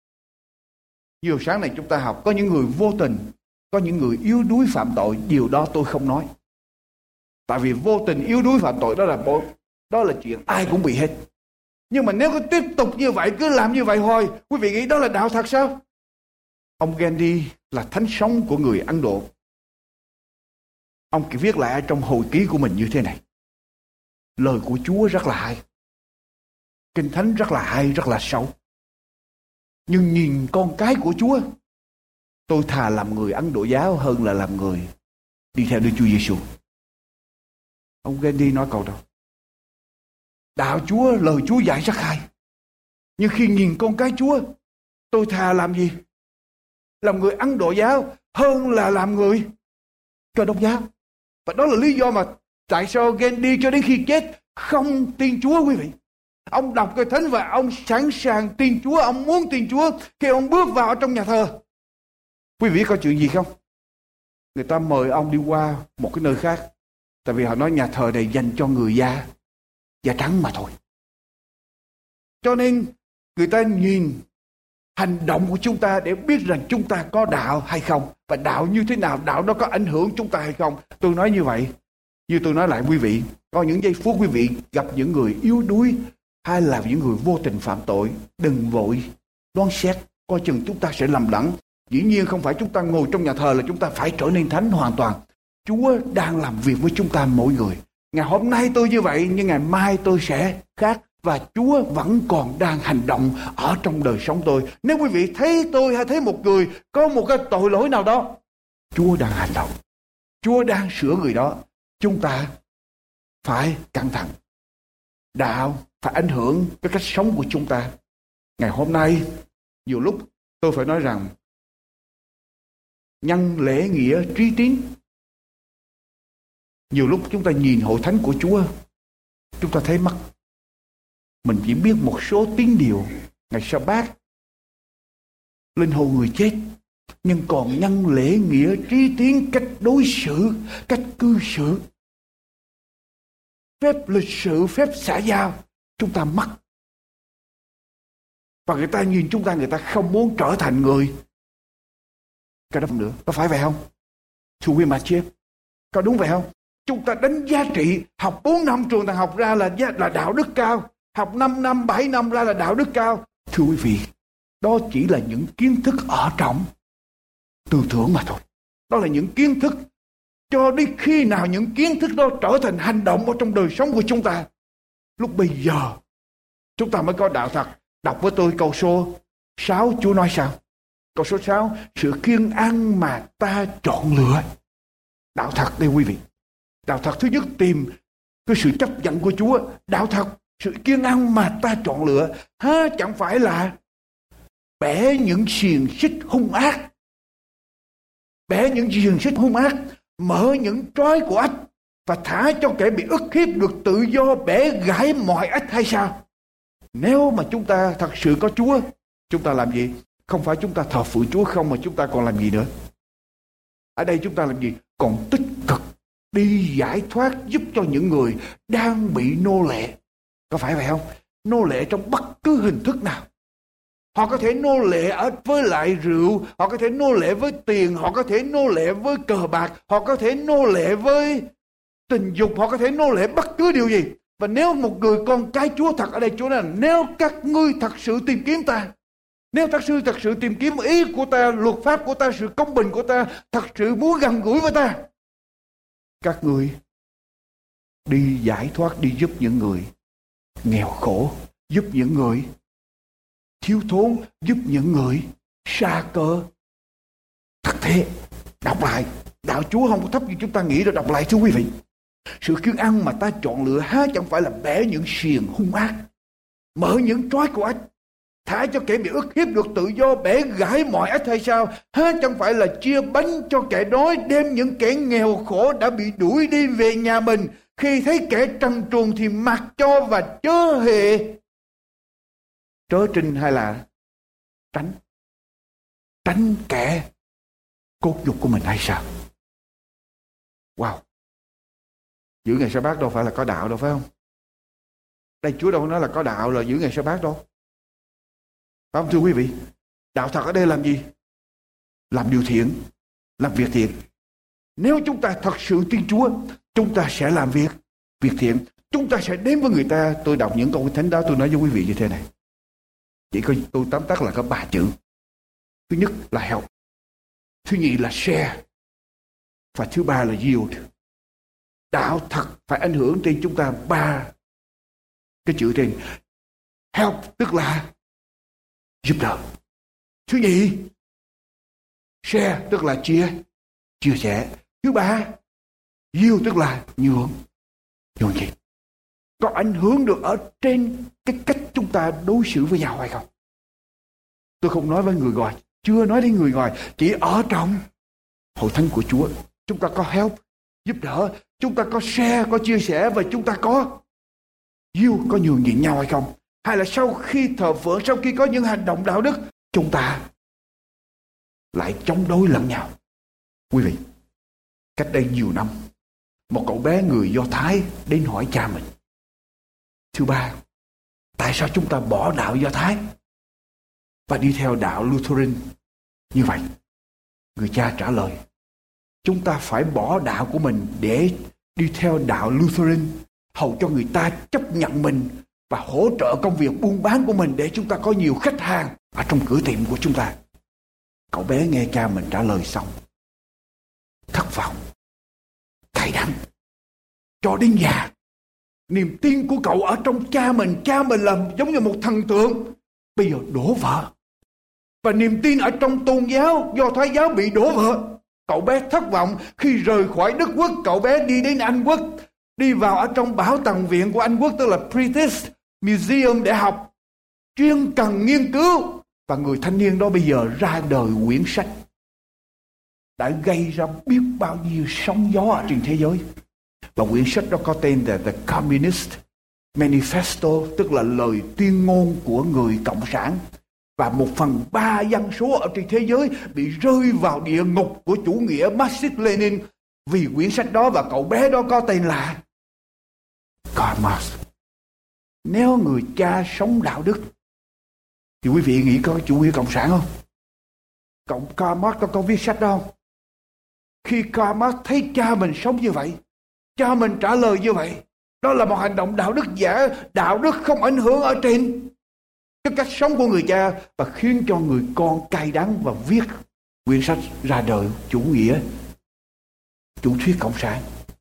Nhiều sáng này chúng ta học, có những người vô tình, có những người yếu đuối phạm tội. Điều đó tôi không nói. Tại vì vô tình yếu đuối phạm tội đó là chuyện ai cũng bị hết. Nhưng mà nếu cứ tiếp tục như vậy, cứ làm như vậy thôi, quý vị nghĩ đó là đạo thật sao? Ông Gandhi là thánh sống của người Ấn Độ. Ông viết lại trong hồi ký của mình như thế này: lời của Chúa rất là hay, Kinh Thánh rất là hay, rất là sâu. Nhưng nhìn con cái của Chúa, tôi thà làm người Ấn Độ giáo hơn là làm người đi theo Đức Chúa Giêsu. Ông Gandhi nói câu đó. Đạo Chúa, lời Chúa dạy rất hay. Nhưng khi nhìn con cái Chúa, tôi thà làm gì? Làm người Ấn Độ giáo hơn là làm người Cơ Đốc giáo. Và đó là lý do mà tại sao Gandhi cho đến khi chết không tin Chúa, quý vị. Ông đọc Kinh Thánh và ông sẵn sàng tin Chúa, ông muốn tin Chúa. Khi ông bước vào trong nhà thờ, quý vị có chuyện gì không? Người ta mời ông đi qua một cái nơi khác. Tại vì họ nói nhà thờ này dành cho người da trắng mà thôi. Cho nên người ta nhìn hành động của chúng ta để biết rằng chúng ta có đạo hay không. Và đạo như thế nào, đạo đó có ảnh hưởng chúng ta hay không. Tôi nói như vậy, như tôi nói lại quý vị, có những giây phút quý vị gặp những người yếu đuối hay là những người vô tình phạm tội, đừng vội đoán xét, coi chừng chúng ta sẽ lầm lẫn. Dĩ nhiên không phải chúng ta ngồi trong nhà thờ là chúng ta phải trở nên thánh hoàn toàn. Chúa đang làm việc với chúng ta mỗi người. Ngày hôm nay tôi như vậy, nhưng ngày mai tôi sẽ khác. Và Chúa vẫn còn đang hành động ở trong đời sống tôi. Nếu quý vị thấy tôi hay thấy một người có một cái tội lỗi nào đó, Chúa đang hành động, Chúa đang sửa người đó. Chúng ta phải cẩn thận. Đạo phải ảnh hưởng cái cách sống của chúng ta. Ngày hôm nay, nhiều lúc tôi phải nói rằng nhân lễ nghĩa trí tín. Nhiều lúc chúng ta nhìn hội thánh của Chúa, chúng ta thấy mất. Mình chỉ biết một số tín điều ngày Sa-bát, linh hồn người chết, nhưng còn nhân lễ nghĩa trí tín, cách đối xử, cách cư xử, phép lịch sự, phép xã giao, chúng ta mất. Và người ta nhìn chúng ta, người ta không muốn trở thành người cái đó nữa. Có phải vậy không? Thưa quý mà chết, có đúng vậy không? Chúng ta đánh giá trị, học 4 năm trường đại học ra là đạo đức cao, học 5 năm, 7 năm ra là đạo đức cao. Thưa quý vị, đó chỉ là những kiến thức ở trong tư tưởng mà thôi. Đó là những kiến thức. Cho đến khi nào những kiến thức đó trở thành hành động ở trong đời sống của chúng ta, lúc bây giờ chúng ta mới có đạo thật. Đọc với tôi câu số 6, Chúa nói sao? Câu số 6, sự kiêng ăn mà ta chọn lựa. Đạo thật đây quý vị. Đạo thật thứ nhất tìm cái sự chấp nhận của Chúa. Đạo thật, sự kiêng ăn mà ta chọn lựa. Chẳng phải là bẻ những xiềng xích hung ác. Bẻ những xiềng xích hung ác, mở những trói của ách và thả cho kẻ bị ức hiếp được tự do, bẻ gãy mọi ách hay sao? Nếu mà chúng ta thật sự có Chúa, chúng ta làm gì? Không phải chúng ta thờ phượng Chúa không, mà chúng ta còn làm gì nữa? Ở đây chúng ta làm gì? Còn tích cực đi giải thoát, giúp cho những người đang bị nô lệ. Có phải vậy không? Nô lệ trong bất cứ hình thức nào. Họ có thể nô lệ với lại rượu, họ có thể nô lệ với tiền, họ có thể nô lệ với cờ bạc, họ có thể nô lệ với tình dục, họ có thể nô lệ bất cứ điều gì. Và nếu một người con cái Chúa thật, ở đây Chúa nói là nếu các ngươi thật sự tìm kiếm ta, nếu thật sự tìm kiếm ý của ta, luật pháp của ta, sự công bình của ta, thật sự muốn gần gũi với ta, các ngươi đi giải thoát, đi giúp những người nghèo khổ, giúp những người thiếu thốn, giúp những người sa cơ. Thật thế, đọc lại Đạo Chúa không có thấp như chúng ta nghĩ đâu. Đọc lại thưa quý vị. Sự kiêng ăn mà ta chọn lựa há chẳng phải là bẻ những xiềng hung ác, mở những trói của ách, thả cho kẻ bị ức hiếp được tự do, bẻ gãy mọi ách hay sao? Há chẳng phải là chia bánh cho kẻ đói, đem những kẻ nghèo khổ đã bị đuổi đi về nhà mình. Khi thấy kẻ trần truồng thì mặc cho và chớ hề trớ trinh hay là tránh kẻ cốt nhục của mình hay sao? Wow! Giữ ngày sa bát đâu phải là có đạo đâu, phải không? Đây Chúa đâu nói là có đạo là giữ ngày sa bát đâu. Phải không thưa quý vị? Đạo thật ở đây làm gì? Làm điều thiện, làm việc thiện. Nếu chúng ta thật sự tin Chúa, chúng ta sẽ làm việc thiện. Chúng ta sẽ đến với người ta. Tôi đọc những câu thánh đó, tôi nói với quý vị như thế này. Chỉ có tôi tóm tắt là có 3 chữ. Thứ nhất là help, thứ nhì là share, và thứ ba là yield. Đạo thật phải ảnh hưởng trên chúng ta 3 cái chữ trên. Help tức là giúp đỡ. Thứ nhì, share tức là chia sẻ. Thứ ba, yield tức là nhường nhịn. Có ảnh hưởng được ở trên cái cách chúng ta đối xử với nhau hay không? Tôi không nói với người ngoài, chưa nói đến người ngoài, chỉ ở trong hội thánh của Chúa. Chúng ta có help, giúp đỡ, chúng ta có share, có chia sẻ, và chúng ta có yield, có nhường nhịn nhau hay không? Hay là sau khi thờ phượng, sau khi có những hành động đạo đức, chúng ta lại chống đối lẫn nhau? Quý vị, cách đây nhiều năm, một cậu bé người Do Thái đến hỏi cha mình: thưa ba, tại sao chúng ta bỏ đạo Do Thái và đi theo đạo Lutheran như vậy? Người cha trả lời: chúng ta phải bỏ đạo của mình để đi theo đạo Lutheran, hầu cho người ta chấp nhận mình và hỗ trợ công việc buôn bán của mình để chúng ta có nhiều khách hàng ở trong cửa tiệm của chúng ta. Cậu bé nghe cha mình trả lời xong, thất vọng, cay đắng, cho đến già. Niềm tin của cậu ở trong cha mình là giống như một thần tượng, bây giờ đổ vỡ. Và niềm tin ở trong tôn giáo Do Thái giáo bị đổ vỡ. Cậu bé thất vọng khi rời khỏi Đức Quốc. Cậu bé đi đến Anh Quốc, đi vào ở trong bảo tàng viện của Anh Quốc, tức là British Museum, để học chuyên cần nghiên cứu. Và người thanh niên đó bây giờ ra đời quyển sách đã gây ra biết bao nhiêu sóng gió ở trên thế giới. Và quyển sách đó có tên là The Communist Manifesto, tức là lời tuyên ngôn của người Cộng sản. Và 1/3 dân số ở trên thế giới bị rơi vào địa ngục của chủ nghĩa Marxist Lenin vì quyển sách đó. Và cậu bé đó có tên là Karl Marx. Nếu người cha sống đạo đức thì quý vị nghĩ có chủ nghĩa cộng sản không? Karl Marx có viết sách đó không? Khi Karl Marx thấy cha mình sống như vậy, cha mình trả lời như vậy, đó là một hành động đạo đức giả. Đạo đức không ảnh hưởng ở trên cái cách sống của người cha, và khiến cho người con cay đắng và viết quyển sách ra đời chủ nghĩa, chủ thuyết cộng sản,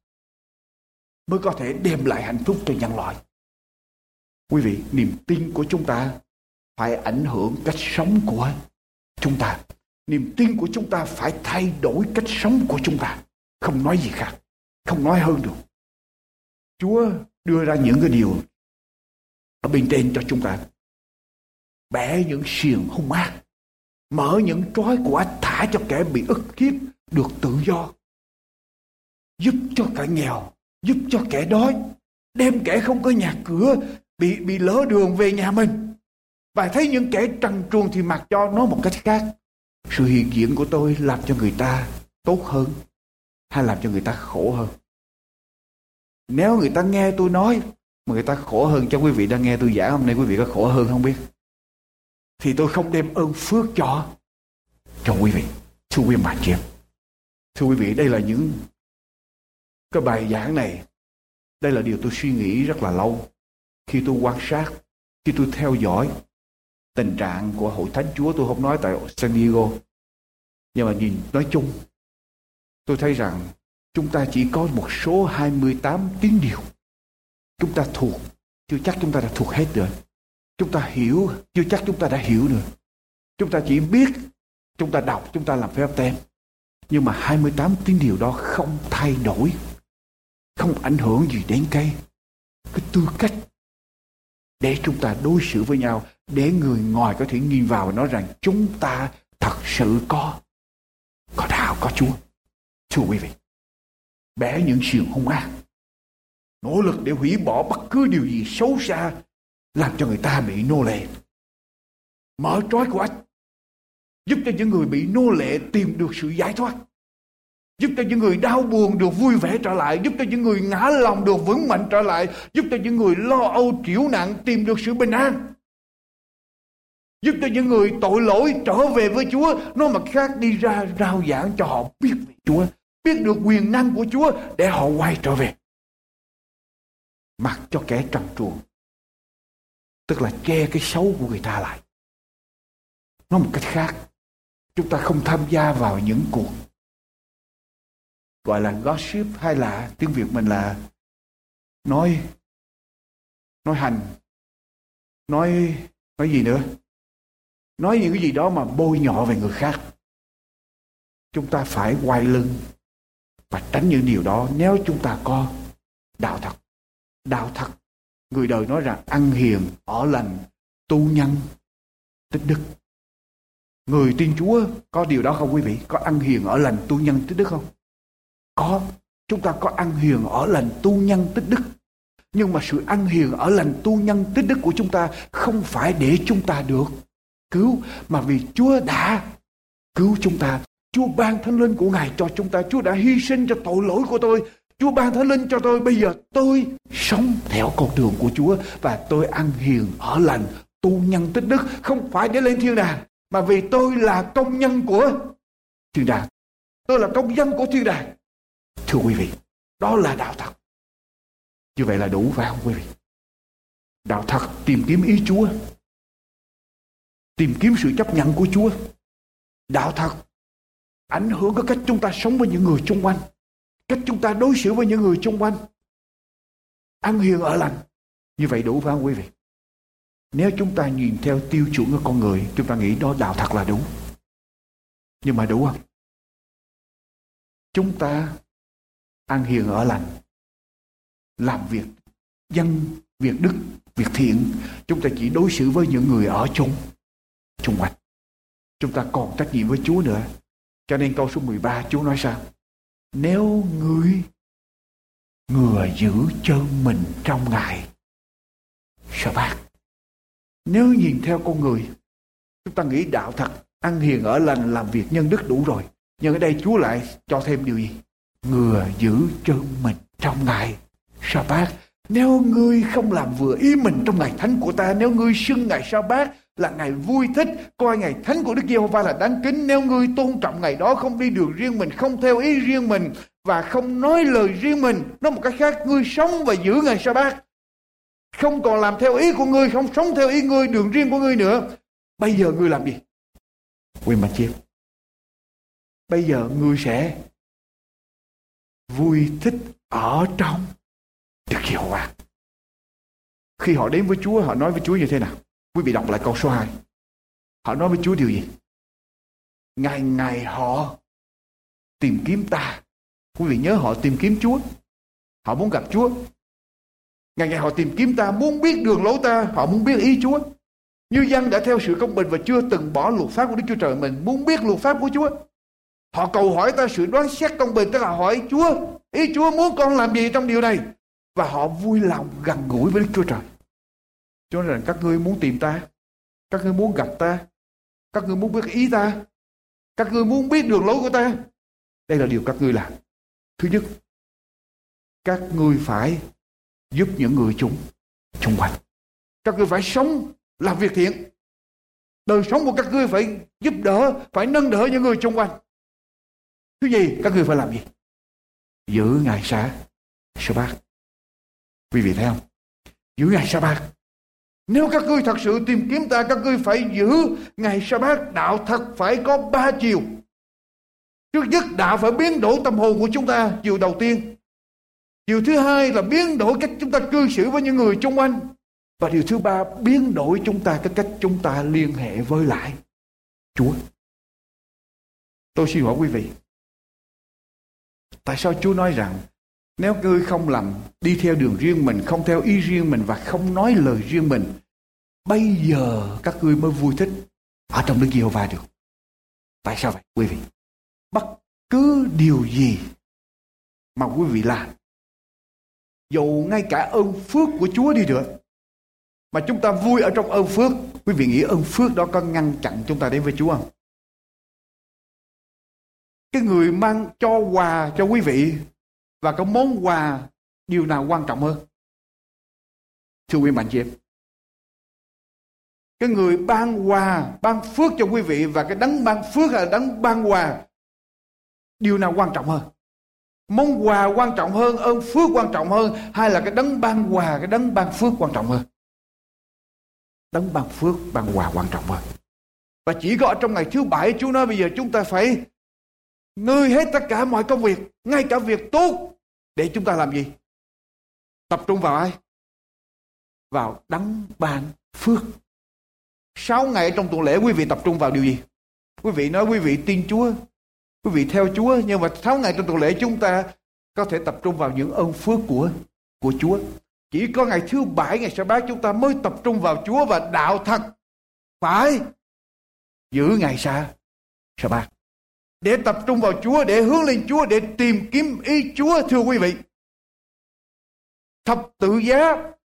mới có thể đem lại hạnh phúc cho nhân loại. Quý vị, niềm tin của chúng ta phải ảnh hưởng cách sống của chúng ta. Niềm tin của chúng ta phải thay đổi cách sống của chúng ta. Không nói gì khác, không nói hơn được. Chúa đưa ra những cái điều ở bên trên cho chúng ta. Bẻ những xiềng hung ác, mở những trói của ách, thả cho kẻ bị ức hiếp được tự do, giúp cho kẻ nghèo, giúp cho kẻ đói, đem kẻ không có nhà cửa, bị lỡ đường về nhà mình. Và thấy những kẻ trần truồng thì mặc cho. Nói một cách khác, sự hiện diện của tôi làm cho người ta tốt hơn hay làm cho người ta khổ hơn? Nếu người ta nghe tôi nói mà người ta khổ hơn, cho quý vị đang nghe tôi giảng hôm nay, quý vị có khổ hơn không biết, thì tôi không đem ơn phước cho quý vị. Thưa quý bà chị em, thưa quý vị, đây là những cái bài giảng này, đây là điều tôi suy nghĩ rất là lâu. Khi tôi quan sát, khi tôi theo dõi tình trạng của hội thánh Chúa, tôi không nói tại San Diego, nhưng mà nhìn nói chung, tôi thấy rằng chúng ta chỉ có một số 28 tín điều. Chúng ta thuộc, chưa chắc chúng ta đã thuộc hết rồi. Chúng ta hiểu, chưa chắc chúng ta đã hiểu được. Chúng ta chỉ biết, chúng ta đọc, chúng ta làm phép tem. Nhưng mà 28 tín điều đó không thay đổi, không ảnh hưởng gì đến cái tư cách để chúng ta đối xử với nhau, để người ngoài có thể nhìn vào và nói rằng chúng ta thật sự có đạo, có Chúa. Thưa quý vị, bẻ những xiềng hung ác, nỗ lực để hủy bỏ bất cứ điều gì xấu xa làm cho người ta bị nô lệ, mở trói của ách, giúp cho những người bị nô lệ tìm được sự giải thoát, giúp cho những người đau buồn được vui vẻ trở lại, giúp cho những người ngã lòng được vững mạnh trở lại, giúp cho những người lo âu triểu nặng tìm được sự bình an, giúp cho những người tội lỗi trở về với Chúa. Nói mặt khác, đi ra rao giảng cho họ biết về Chúa, biết được quyền năng của Chúa để họ quay trở về. Mặc cho kẻ trần truồng, tức là che cái xấu của người ta lại. Nói một cách khác, chúng ta không tham gia vào những cuộc gọi là gossip, hay là tiếng Việt mình là nói hành, nói gì nữa, nói những cái gì đó mà bôi nhọ về người khác. Chúng ta phải quay lưng và tránh những điều đó nếu chúng ta có đạo thật. Đạo thật, người đời nói rằng ăn hiền, ở lành, tu nhân, tích đức. Người tin Chúa có điều đó không quý vị? Có ăn hiền, ở lành, tu nhân, tích đức không? Có. Chúng ta có ăn hiền, ở lành, tu nhân, tích đức. Nhưng mà sự ăn hiền, ở lành, tu nhân, tích đức của chúng ta không phải để chúng ta được cứu, mà vì Chúa đã cứu chúng ta. Chúa ban Thánh Linh của Ngài cho chúng ta. Chúa đã hy sinh cho tội lỗi của tôi. Chúa ban Thánh Linh cho tôi. Bây giờ tôi sống theo con đường của Chúa, và tôi ăn hiền, ở lành, tu nhân, tích đức, không phải để lên thiên đàng, mà vì tôi là công nhân của thiên đàng. Tôi là công dân của thiên đàng. Thưa quý vị, đó là đạo thật. Như vậy là đủ phải không quý vị? Đạo thật tìm kiếm ý Chúa, tìm kiếm sự chấp nhận của Chúa. Đạo thật ảnh hưởng cái cách chúng ta sống với những người xung quanh, cách chúng ta đối xử với những người xung quanh. Ăn hiền, ở lành, như vậy đủ phải không quý vị? Nếu chúng ta nhìn theo tiêu chuẩn của con người, chúng ta nghĩ đó đạo thật là đúng. Nhưng mà đủ không? Chúng ta ăn hiền, ở lành, làm việc dân, việc đức, việc thiện, chúng ta chỉ đối xử với những người ở chung quanh. Chúng ta còn trách nhiệm với Chúa nữa. Cho nên câu số 13 Chúa nói sao? Nếu người giữ chân mình trong ngày Sa-bát. Nếu nhìn theo con người, chúng ta nghĩ đạo thật, ăn hiền, ở lành, làm việc nhân đức đủ rồi. Nhưng ở đây Chúa lại cho thêm điều gì? Người giữ chân mình trong ngày Sa-bát. Nếu ngươi không làm vừa ý mình trong ngày thánh của ta, nếu ngươi xưng ngày Sa-bát là ngày vui thích, coi ngày thánh của Đức Giê-hô-va là đáng kính, nếu ngươi tôn trọng ngày đó, không đi đường riêng mình, không theo ý riêng mình và không nói lời riêng mình, nói một cách khác, ngươi sống và giữ ngày Sa-bát, không còn làm theo ý của ngươi, không sống theo ý ngươi, đường riêng của ngươi nữa. Bây giờ ngươi làm gì? Quên mà chiêm. Bây giờ ngươi sẽ vui thích ở trong Đức Giê-hô-va. Khi họ đến với Chúa, họ nói với Chúa như thế nào? Quý vị đọc lại câu số 2. Họ nói với Chúa điều gì? Ngày ngày họ tìm kiếm ta. Quý vị nhớ họ tìm kiếm Chúa. Họ muốn gặp Chúa. Ngày ngày họ tìm kiếm ta, muốn biết đường lối ta, họ muốn biết ý Chúa. Như dân đã theo sự công bình và chưa từng bỏ luật pháp của Đức Chúa Trời mình, muốn biết luật pháp của Chúa. Họ cầu hỏi ta sự đoán xét công bình, tức là hỏi Chúa, ý Chúa muốn con làm gì trong điều này. Và họ vui lòng gần gũi với Đức Chúa Trời. Cho nên các ngươi muốn tìm ta, các ngươi muốn gặp ta, các ngươi muốn biết ý ta, các ngươi muốn biết đường lối của ta. Đây là điều các ngươi làm. Thứ nhất, các ngươi phải giúp những người xung quanh. Các ngươi phải sống, làm việc thiện. Đời sống của các ngươi phải giúp đỡ, phải nâng đỡ những người xung quanh. Thứ gì? Các ngươi phải làm gì? Giữ ngày Sa-bát. Quý vị thấy không? Giữ ngày Sa-bát. Nếu các ngươi thật sự tìm kiếm ta, các ngươi phải giữ ngày Sa-bát. Đạo thật phải có 3 chiều. Trước nhất, đạo phải biến đổi tâm hồn của chúng ta. Chiều đầu tiên. Chiều thứ hai là biến đổi cách chúng ta cư xử với những người xung quanh. Và điều thứ ba, biến đổi chúng ta cái cách chúng ta liên hệ với lại Chúa. Tôi xin hỏi quý vị, Tại sao Chúa nói rằng nếu ngươi không làm, đi theo đường riêng mình, không theo ý riêng mình và không nói lời riêng mình, bây giờ các ngươi mới vui thích ở trong Đức Giê-hô-va được. Tại sao vậy quý vị? Bất cứ điều gì mà quý vị làm, dù ngay cả ơn phước của Chúa đi nữa, mà chúng ta vui ở trong ơn phước, quý vị nghĩ ơn phước đó có ngăn chặn chúng ta đến với Chúa không? Cái người mang cho quà cho quý vị và cái món quà, điều nào quan trọng hơn? Thưa quý mạnh chị em, cái người ban quà, ban phước cho quý vị và cái đấng ban phước hay là đấng ban quà, điều nào quan trọng hơn? Món quà quan trọng hơn, ơn phước quan trọng hơn, hay là cái đấng ban quà, cái đấng ban phước quan trọng hơn? Đấng ban phước, ban quà quan trọng hơn. Và chỉ có ở trong ngày thứ bảy Chúa nói bây giờ chúng ta phải ngơi hết tất cả mọi công việc, ngay cả việc tốt, để chúng ta làm gì? Tập trung vào ai? Vào đấng ban phước. 6 ngày trong tuần lễ quý vị tập trung vào điều gì? Quý vị nói quý vị tin Chúa, quý vị theo Chúa, nhưng mà 6 ngày trong tuần lễ chúng ta có thể tập trung vào những ơn phước của Chúa. Chỉ có ngày thứ bảy, ngày Sa-bát chúng ta mới tập trung vào Chúa, và đạo thật phải giữ ngày Sa-bát để tập trung vào Chúa, để hướng lên Chúa, để tìm kiếm ý Chúa. Thưa quý vị, thập tự giá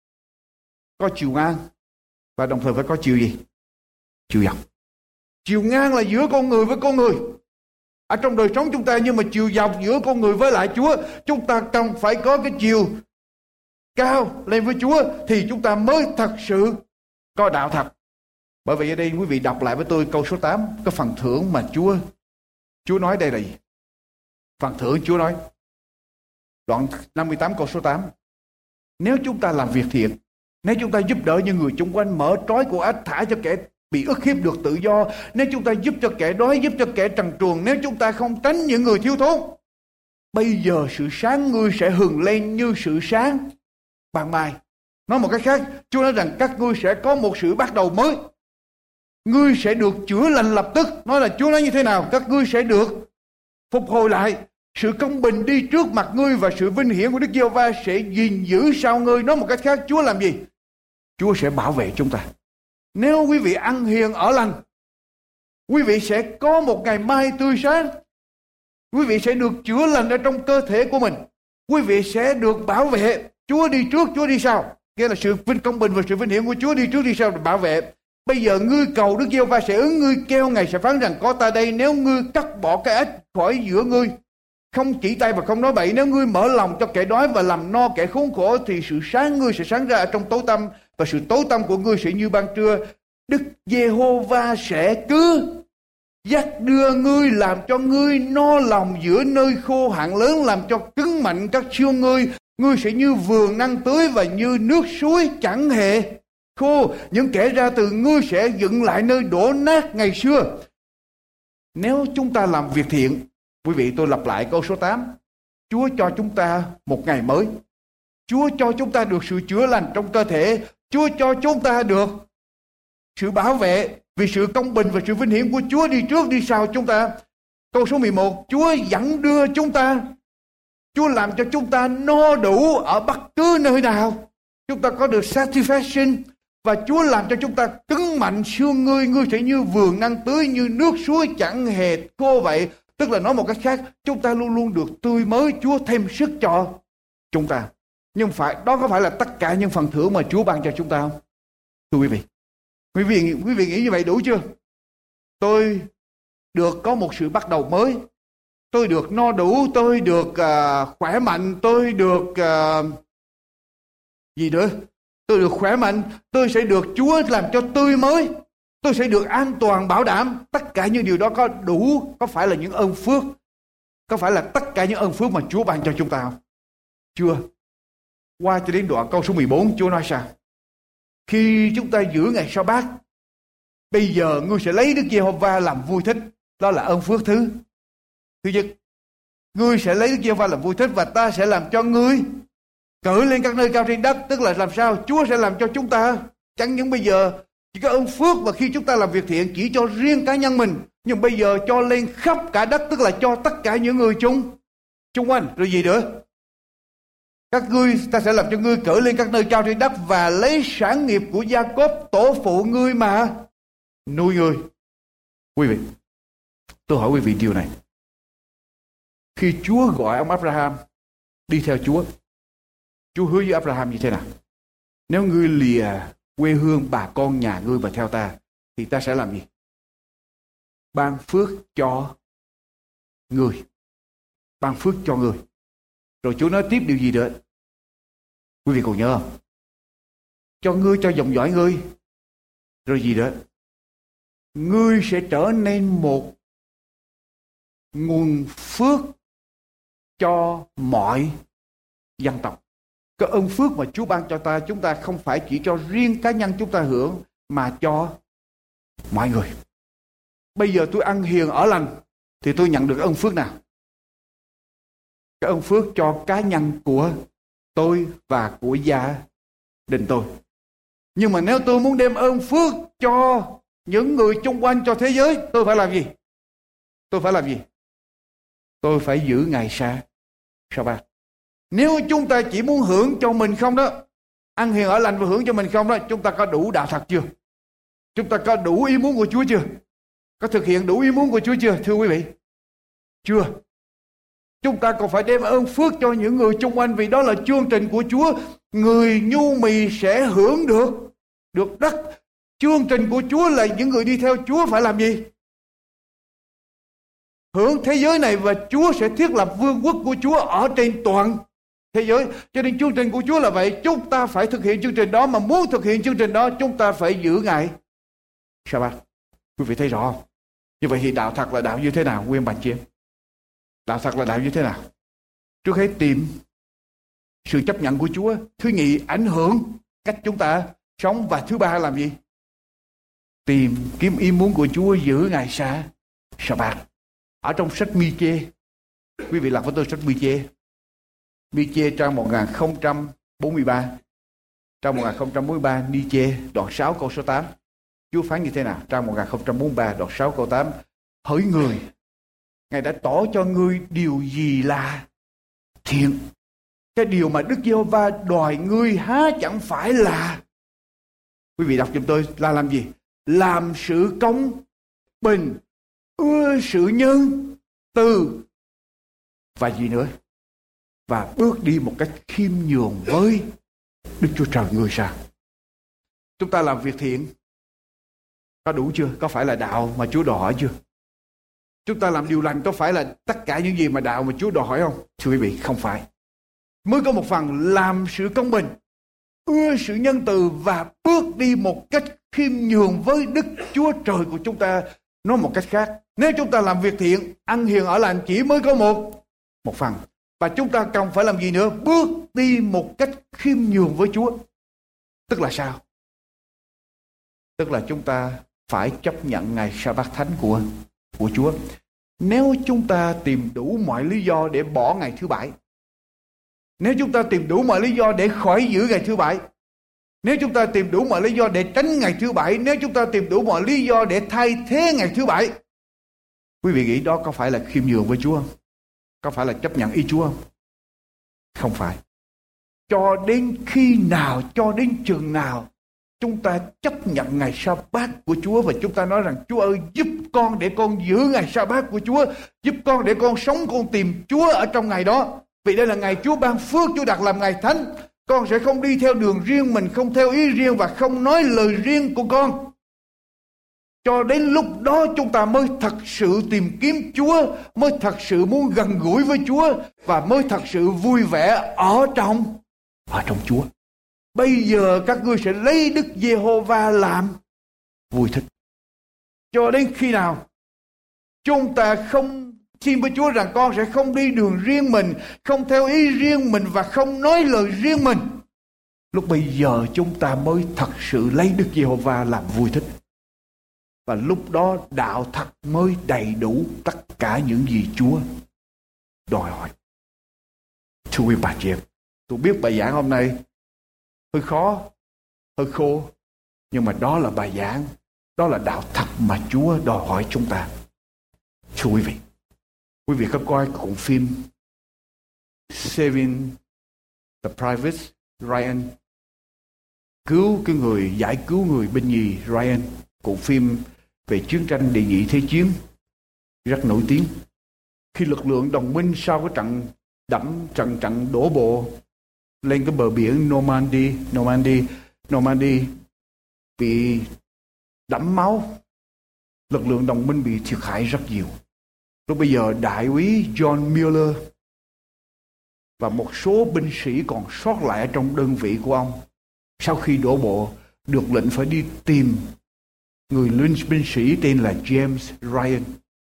có chiều ngang và đồng thời phải có chiều gì? Chiều dọc. Chiều ngang là giữa con người với con người ở trong đời sống chúng ta, nhưng mà chiều dọc giữa con người với lại Chúa, chúng ta cần phải có cái chiều cao lên với Chúa thì chúng ta mới thật sự có đạo thật. Bởi vậy ở đây quý vị đọc lại với tôi câu số 8, cái phần thưởng mà Chúa nói đây là gì? Phần thưởng Chúa nói, đoạn 58 câu số 8. Nếu chúng ta làm việc thiện, nếu chúng ta giúp đỡ những người chung quanh, mở trói của ách, thả cho kẻ bị ức hiếp được tự do, nếu chúng ta giúp cho kẻ đói, giúp cho kẻ trần truồng, nếu chúng ta không tránh những người thiếu thốn, bây giờ sự sáng ngươi sẽ hừng lên như sự sáng ban mai. Nói một cách khác, Chúa nói rằng các ngươi sẽ có một sự bắt đầu mới. Ngươi sẽ được chữa lành lập tức. Nói là Chúa nói như thế nào? Các ngươi sẽ được phục hồi lại. Sự công bình đi trước mặt ngươi và sự vinh hiển của Đức Giê-hô-va sẽ gìn giữ sau ngươi. Nói một cách khác, Chúa làm gì? Chúa sẽ bảo vệ chúng ta. Nếu quý vị ăn hiền ở lành, quý vị sẽ có một ngày mai tươi sáng. Quý vị sẽ được chữa lành ở trong cơ thể của mình. Quý vị sẽ được bảo vệ. Chúa đi trước, Chúa đi sau. Nghĩa là sự công bình và sự vinh hiển của Chúa đi trước đi sau để bảo vệ. Bây giờ ngươi cầu Đức Giê-hô-va sẽ ứng, ngươi kêu Ngài sẽ phán rằng có ta đây. Nếu ngươi cắt bỏ cái ách khỏi giữa ngươi, không chỉ tay và không nói bậy, nếu ngươi mở lòng cho kẻ đói và làm no kẻ khốn khổ, thì sự sáng ngươi sẽ sáng ra ở trong tối tăm, và sự tối tăm của ngươi sẽ như ban trưa. Đức Giê-hô-va sẽ cứ dắt đưa ngươi, làm cho ngươi no lòng giữa nơi khô hạn lớn, làm cho cứng mạnh các xương ngươi. Ngươi sẽ như vườn năng tưới và như nước suối chẳng hề khô. Những kẻ ra từ ngươi sẽ dựng lại nơi đổ nát ngày xưa. Nếu chúng ta làm việc thiện, quý vị, tôi lặp lại câu số 8. Chúa cho chúng ta một ngày mới. Chúa cho chúng ta được sự chữa lành trong cơ thể. Chúa cho chúng ta được sự bảo vệ vì sự công bình và sự vinh hiển của Chúa đi trước đi sau chúng ta. Câu số 11. Chúa dẫn đưa chúng ta. Chúa làm cho chúng ta no đủ ở bất cứ nơi nào. Chúng ta có được satisfaction. Và Chúa làm cho chúng ta cứng mạnh xương ngươi. Ngươi sẽ như vườn năng tưới, như nước suối chẳng hề khô vậy. Tức là nói một cách khác, chúng ta luôn luôn được tươi mới. Chúa thêm sức cho chúng ta. Nhưng đó có phải là tất cả những phần thưởng mà Chúa ban cho chúng ta không? Thưa quý vị, quý vị nghĩ như vậy đủ chưa? Tôi được có một sự bắt đầu mới. Tôi được no đủ, tôi được khỏe mạnh, tôi được gì nữa? Tôi được khỏe mạnh, tôi sẽ được Chúa làm cho tươi mới. Tôi sẽ được an toàn bảo đảm. Tất cả những điều đó có đủ, có phải là những ơn phước? Có phải là tất cả những ơn phước mà Chúa ban cho chúng ta không? Chưa. Qua cho đến đoạn câu số 14, Chúa nói sao? Khi chúng ta giữ ngày Sa-bát, bây giờ ngươi sẽ lấy Đức Giê-hô-va làm vui thích. Đó là ơn phước thứ nhất. Ngươi sẽ lấy Đức Giê-hô-va làm vui thích, và ta sẽ làm cho ngươi cởi lên các nơi cao trên đất. Tức là làm sao? Chúa sẽ làm cho chúng ta chẳng những bây giờ chỉ có ơn phước, và khi chúng ta làm việc thiện chỉ cho riêng cá nhân mình, nhưng bây giờ cho lên khắp cả đất, tức là cho tất cả những người xung quanh. Rồi gì nữa? Các ngươi, ta sẽ làm cho ngươi cởi lên các nơi cao trên đất và lấy sản nghiệp của Gia-cốp tổ phụ ngươi mà nuôi ngươi. Quý vị, tôi hỏi quý vị điều này. Khi Chúa gọi ông Abraham đi theo Chúa hứa với Abraham như thế nào? Nếu ngươi lìa quê hương bà con nhà ngươi và theo ta, thì ta sẽ làm gì? Ban phước cho ngươi. Ban phước cho ngươi. Rồi Chúa nói tiếp điều gì nữa? Quý vị còn nhớ không? Cho ngươi, cho dòng dõi ngươi. Rồi gì nữa? Ngươi sẽ trở nên một nguồn phước cho mọi dân tộc. Cái ơn phước mà Chúa ban cho ta, chúng ta không phải chỉ cho riêng cá nhân chúng ta hưởng, mà cho mọi người. Bây giờ tôi ăn hiền ở lành thì tôi nhận được ơn phước nào? Cái ơn phước cho cá nhân của tôi và của gia đình tôi. Nhưng mà nếu tôi muốn đem ơn phước cho những người chung quanh, cho thế giới, tôi phải làm gì? Tôi phải làm gì? Tôi phải giữ ngày sa-bát. Nếu chúng ta chỉ muốn hưởng cho mình không đó, ăn hiền ở lành và hưởng cho mình không đó, chúng ta có đủ đạo thật chưa? Chúng ta có đủ ý muốn của Chúa chưa? Có thực hiện đủ ý muốn của Chúa chưa, thưa quý vị? Chưa. Chúng ta còn phải đem ơn phước cho những người chung quanh, vì đó là chương trình của Chúa. Người nhu mì sẽ hưởng được đất. Chương trình của Chúa là những người đi theo Chúa phải làm gì? Hưởng thế giới này, và Chúa sẽ thiết lập vương quốc của Chúa ở trên toàn thế giới. Cho nên chương trình của Chúa là vậy. Chúng ta phải thực hiện chương trình đó, mà muốn thực hiện chương trình đó, chúng ta phải giữ ngày sa-bát. Quý vị thấy rõ không? Như vậy thì đạo thật là đạo như thế nào, quý ông bà chị em? Đạo thật là đạo như thế nào? Trước hết tìm sự chấp nhận của Chúa. Thứ nhì, ảnh hưởng cách chúng ta sống. Và thứ ba làm gì? Tìm kiếm ý muốn của Chúa, giữ ngày sa-bát. Ở trong sách Mi-chê, quý vị lật với tôi sách Mi-chê. Mi-chê trang 1043. Trang 1043, Mi-chê đoạn 6 câu số 8. Chúa phán như thế nào? Trang 1043 đoạn 6 câu 8. Hỡi người, Ngài đã tỏ cho ngươi điều gì là thiện. Cái điều mà Đức Giê-hô-va đòi ngươi há chẳng phải là, quý vị đọc giùm tôi, là làm gì? Làm sự công bình, ưa sự nhân từ, và gì nữa? Và bước đi một cách khiêm nhường với Đức Chúa Trời người sao? Chúng ta làm việc thiện có đủ chưa? Có phải là đạo mà Chúa đòi hỏi chưa? Chúng ta làm điều lành có phải là tất cả những gì mà đạo mà Chúa đòi hỏi không? Thưa quý vị, không phải. Mới có một phần làm sự công bình, ưa sự nhân từ, và bước đi một cách khiêm nhường với Đức Chúa Trời của chúng ta. Nói một cách khác, nếu chúng ta làm việc thiện, ăn hiền ở lành chỉ mới có một phần. Và chúng ta cần phải làm gì nữa? Bước đi một cách khiêm nhường với Chúa. Tức là sao? Tức là chúng ta phải chấp nhận ngày sa-bát thánh của Chúa. Nếu chúng ta tìm đủ mọi lý do để bỏ ngày thứ bảy, nếu chúng ta tìm đủ mọi lý do để khỏi giữ ngày thứ bảy, nếu chúng ta tìm đủ mọi lý do để tránh ngày thứ bảy, nếu chúng ta tìm đủ mọi lý do để thay thế ngày thứ bảy, quý vị nghĩ đó có phải là khiêm nhường với Chúa không? Có phải là chấp nhận ý Chúa không? Không phải. Cho đến khi nào, cho đến chừng nào chúng ta chấp nhận ngày sa-bát của Chúa, và chúng ta nói rằng Chúa ơi, giúp con để con giữ ngày sa-bát của Chúa, giúp con để con sống, con tìm Chúa ở trong ngày đó. Vì đây là ngày Chúa ban phước, Chúa đặt làm ngày thánh. Con sẽ không đi theo đường riêng mình, không theo ý riêng và không nói lời riêng của con. Cho đến lúc đó chúng ta mới thật sự tìm kiếm Chúa, mới thật sự muốn gần gũi với Chúa, và mới thật sự vui vẻ ở trong Chúa. Bây giờ các ngươi sẽ lấy Đức Giê-hô-va làm vui thích. Cho đến khi nào chúng ta không xin với Chúa rằng con sẽ không đi đường riêng mình, không theo ý riêng mình và không nói lời riêng mình, lúc bây giờ chúng ta mới thật sự lấy Đức Giê-hô-va làm vui thích. Và lúc đó đạo thật mới đầy đủ tất cả những gì Chúa đòi hỏi. Thưa quý bà chị em, tôi biết bài giảng hôm nay hơi khó, hơi khô, nhưng mà đó là bài giảng, đó là đạo thật mà Chúa đòi hỏi chúng ta. Thưa quý vị có coi cuộn phim Saving the Private Ryan, cứu cái người giải cứu người binh nhì Ryan, bộ phim về chiến tranh đệ nhị thế chiến rất nổi tiếng. Khi lực lượng đồng minh sau cái trận đổ bộ lên cái bờ biển Normandy bị đẫm máu, lực lượng đồng minh bị thiệt hại rất nhiều. Lúc bây giờ đại úy John Mueller và một số binh sĩ còn sót lại ở trong đơn vị của ông, sau khi đổ bộ được lệnh phải đi tìm người binh sĩ tên là James Ryan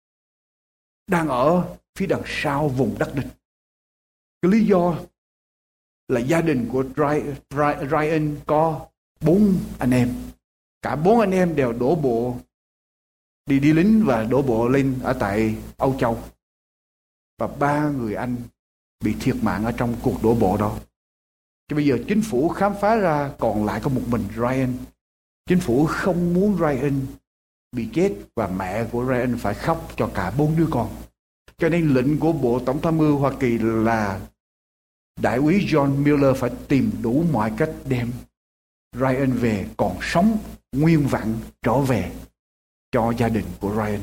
đang ở phía đằng sau vùng đất địch. Cái lý do là gia đình của Ryan có 4 anh em. Cả 4 anh em đều đổ bộ đi lính và đổ bộ lên ở tại Âu Châu. Và 3 người anh bị thiệt mạng ở trong cuộc đổ bộ đó. Chứ bây giờ chính phủ khám phá ra còn lại có một mình Ryan. Chính phủ không muốn Ryan bị chết và mẹ của Ryan phải khóc cho cả 4 đứa con. Cho nên lệnh của Bộ Tổng tham mưu Hoa Kỳ là đại úy John Mueller phải tìm đủ mọi cách đem Ryan về còn sống nguyên vẹn trở về cho gia đình của Ryan.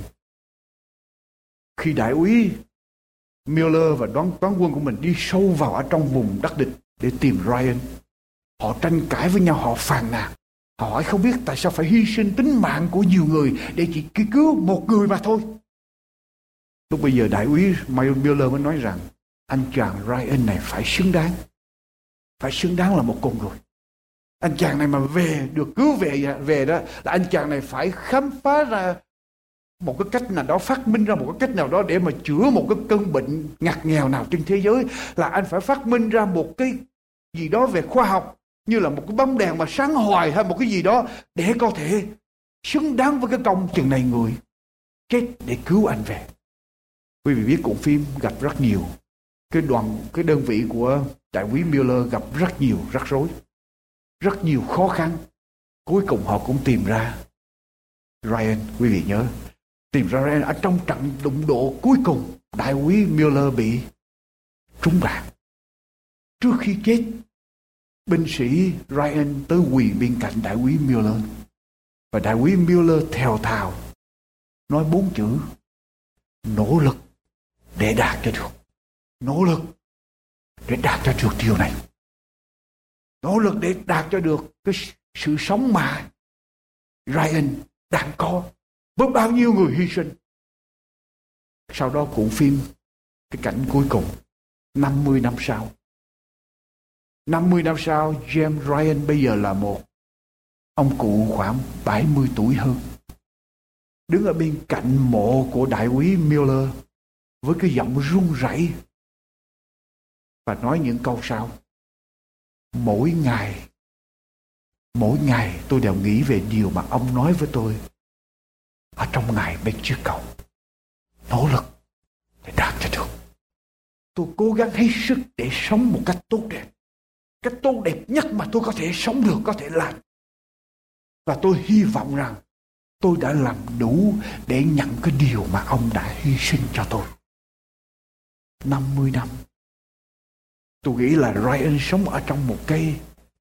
Khi đại úy Mueller và toán quân của mình đi sâu vào ở trong vùng đất địch để tìm Ryan, họ tranh cãi với nhau, họ phàn nàn, họ hỏi không biết tại sao phải hy sinh tính mạng của nhiều người để chỉ cứu một người mà thôi. Lúc bây giờ đại úy Mueller mới nói rằng anh chàng Ryan này phải xứng đáng là một con người. Anh chàng này mà được cứu về đó là anh chàng này phải khám phá ra một cái cách nào đó, phát minh ra một cái cách nào đó để mà chữa một cái cơn bệnh ngặt nghèo nào trên thế giới. Là anh phải phát minh ra một cái gì đó về khoa học, như là một cái bóng đèn mà sáng hoài hay một cái gì đó để có thể xứng đáng với cái công chừng này người chết để cứu anh về. Quý vị biết cuộn phim gặp rất nhiều cái đơn vị của đại úy Mueller gặp rất nhiều rắc rối, rất nhiều khó khăn. Cuối cùng họ cũng tìm ra Ryan. Quý vị nhớ, tìm ra Ryan ở trong trận đụng độ cuối cùng. Đại úy Mueller bị trúng đạn. Trước khi chết, binh sĩ Ryan tới quỳ bên cạnh đại úy Mueller. Và đại úy Mueller thều thào nói 4 chữ: nỗ lực để đạt cho được. Nỗ lực để đạt cho được điều này. Nỗ lực để đạt cho được cái sự sống mà Ryan đang có, với bao nhiêu người hy sinh. Sau đó cuộn phim, cái cảnh cuối cùng, 50 năm sau. 50 năm sau, James Ryan bây giờ là một ông cụ khoảng 70 tuổi hơn, đứng ở bên cạnh mộ của đại úy Mueller với cái giọng run rẩy và nói những câu sau: Mỗi ngày tôi đều nghĩ về điều mà ông nói với tôi ở trong ngày bên chiếc cầu. Nỗ lực để đạt cho được. Tôi cố gắng hết sức để sống một cách tốt đẹp. Cách tốt đẹp nhất mà tôi có thể sống được, có thể làm. Và tôi hy vọng rằng tôi đã làm đủ để nhận cái điều mà ông đã hy sinh cho tôi. 50 năm. Tôi nghĩ là Ryan sống ở trong một cái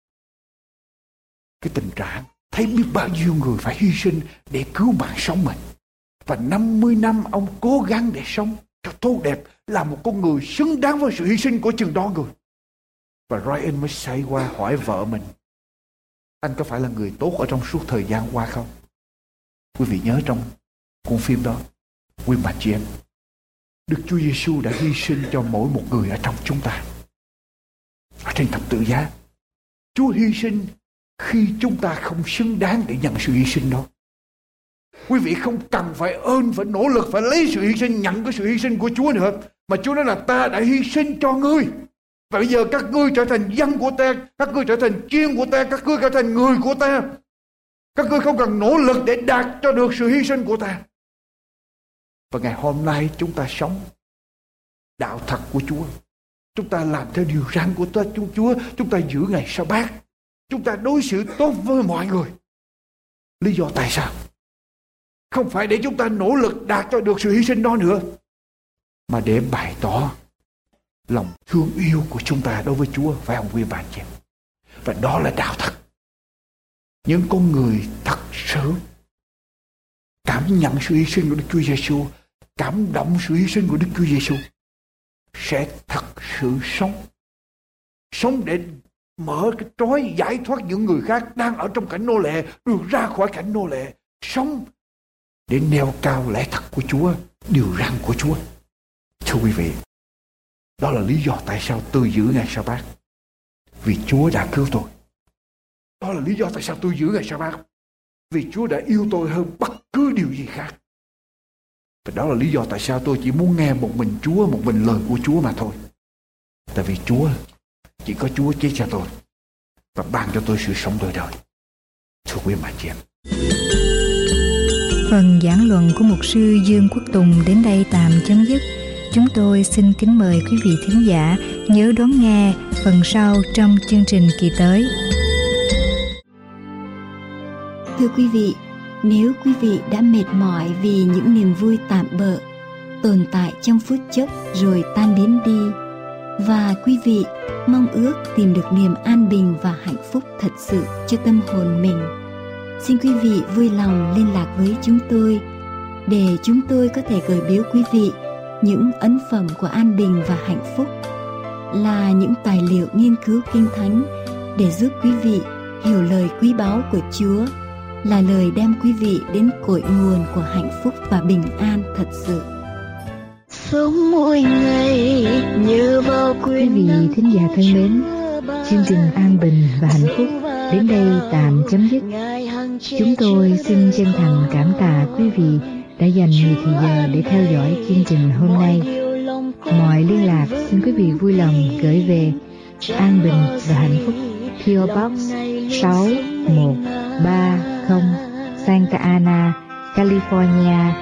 tình trạng thấy biết bao nhiêu người phải hy sinh để cứu mạng sống mình. Và 50 năm ông cố gắng để sống cho tốt đẹp, là một con người xứng đáng với sự hy sinh của chừng đó người. Và Ryan mới xoay qua hỏi vợ mình: anh có phải là người tốt ở trong suốt thời gian qua không? Quý vị nhớ trong cuốn phim đó, quý bà chị em, Đức Chúa Giêsu đã hy sinh cho mỗi một người ở trong chúng ta. Ở trên thập tự giá, Chúa hy sinh khi chúng ta không xứng đáng để nhận sự hy sinh đó. Quý vị không cần phải phải nỗ lực, phải lấy sự hy sinh, nhận cái sự hy sinh của Chúa nữa. Mà Chúa nói là ta đã hy sinh cho ngươi. Và bây giờ các ngươi trở thành dân của ta, các ngươi trở thành chiên của ta, các ngươi trở thành người của ta. Các ngươi không cần nỗ lực để đạt cho được sự hy sinh của ta. Và ngày hôm nay chúng ta sống đạo thật của Chúa. Chúng ta làm theo điều răn của Chúa. Chúng ta giữ ngày Sa-bát. Chúng ta đối xử tốt với mọi người. Lý do tại sao? Không phải để chúng ta nỗ lực đạt cho được sự hy sinh đó nữa, mà để bày tỏ lòng thương yêu của chúng ta đối với Chúa, phải không quý bạn chị? Và đó là đạo thật. Những con người thật sự cảm nhận sự hy sinh của Đức Chúa Giêsu, cảm động sự hy sinh của Đức Chúa Giêsu, sẽ thật sự sống để mở cái trói, giải thoát những người khác đang ở trong cảnh nô lệ được ra khỏi cảnh nô lệ, sống để nêu cao lẽ thật của Chúa, điều răn của Chúa. Thưa quý vị, đó là lý do tại sao tôi giữ ngày Sa-bát, vì Chúa đã cứu tôi. Đó là lý do tại sao tôi giữ ngày Sa-bát, vì Chúa đã yêu tôi hơn bất cứ điều gì khác. Và đó là lý do tại sao tôi chỉ muốn nghe một mình Chúa, một mình lời của Chúa mà thôi. Tại vì Chúa, chỉ có Chúa chết cho tôi và ban cho tôi sự sống đời đời. Thưa quý bà chị em, phần giảng luận của mục sư Dương Quốc Tùng đến đây tạm chấm dứt. Chúng tôi xin kính mời quý vị thính giả nhớ đón nghe phần sau trong chương trình kỳ tới. Thưa quý vị, nếu quý vị đã mệt mỏi vì những niềm vui tạm bợ, tồn tại trong phút chốc rồi tan biến đi, và quý vị mong ước tìm được niềm an bình và hạnh phúc thật sự cho tâm hồn mình, xin quý vị vui lòng liên lạc với chúng tôi để chúng tôi có thể gửi biếu quý vị những ấn phẩm của an bình và hạnh phúc, là những tài liệu nghiên cứu kinh thánh để giúp quý vị hiểu lời quý báu của Chúa, là lời đem quý vị đến cội nguồn của hạnh phúc và bình an thật sự. Sống mỗi ngày như vào Quý vị thính giả thân mến, chương trình An Bình và Hạnh Phúc đến đây tạm chấm dứt. Chúng tôi xin chân thành cảm tạ quý vị đã dành nhiều thời giờ để theo dõi chương trình hôm nay. Mọi liên lạc xin quý vị vui lòng gửi về An Bình và Hạnh Phúc, PO Box 6130, Santa Ana, California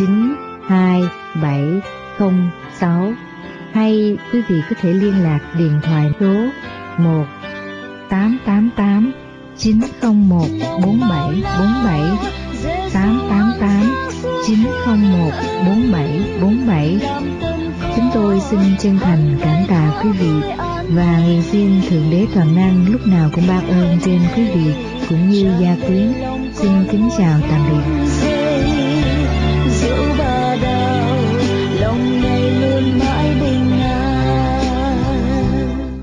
92706. Hay quý vị có thể liên lạc điện thoại số 1-888-901-4747, 888-901-4747. Chúng tôi xin chân thành cảm tạ quý vị và nguyện xin Thượng Đế Toàn Năng lúc nào cũng ban ơn trên quý vị cũng như gia quyến. Xin kính chào tạm biệt.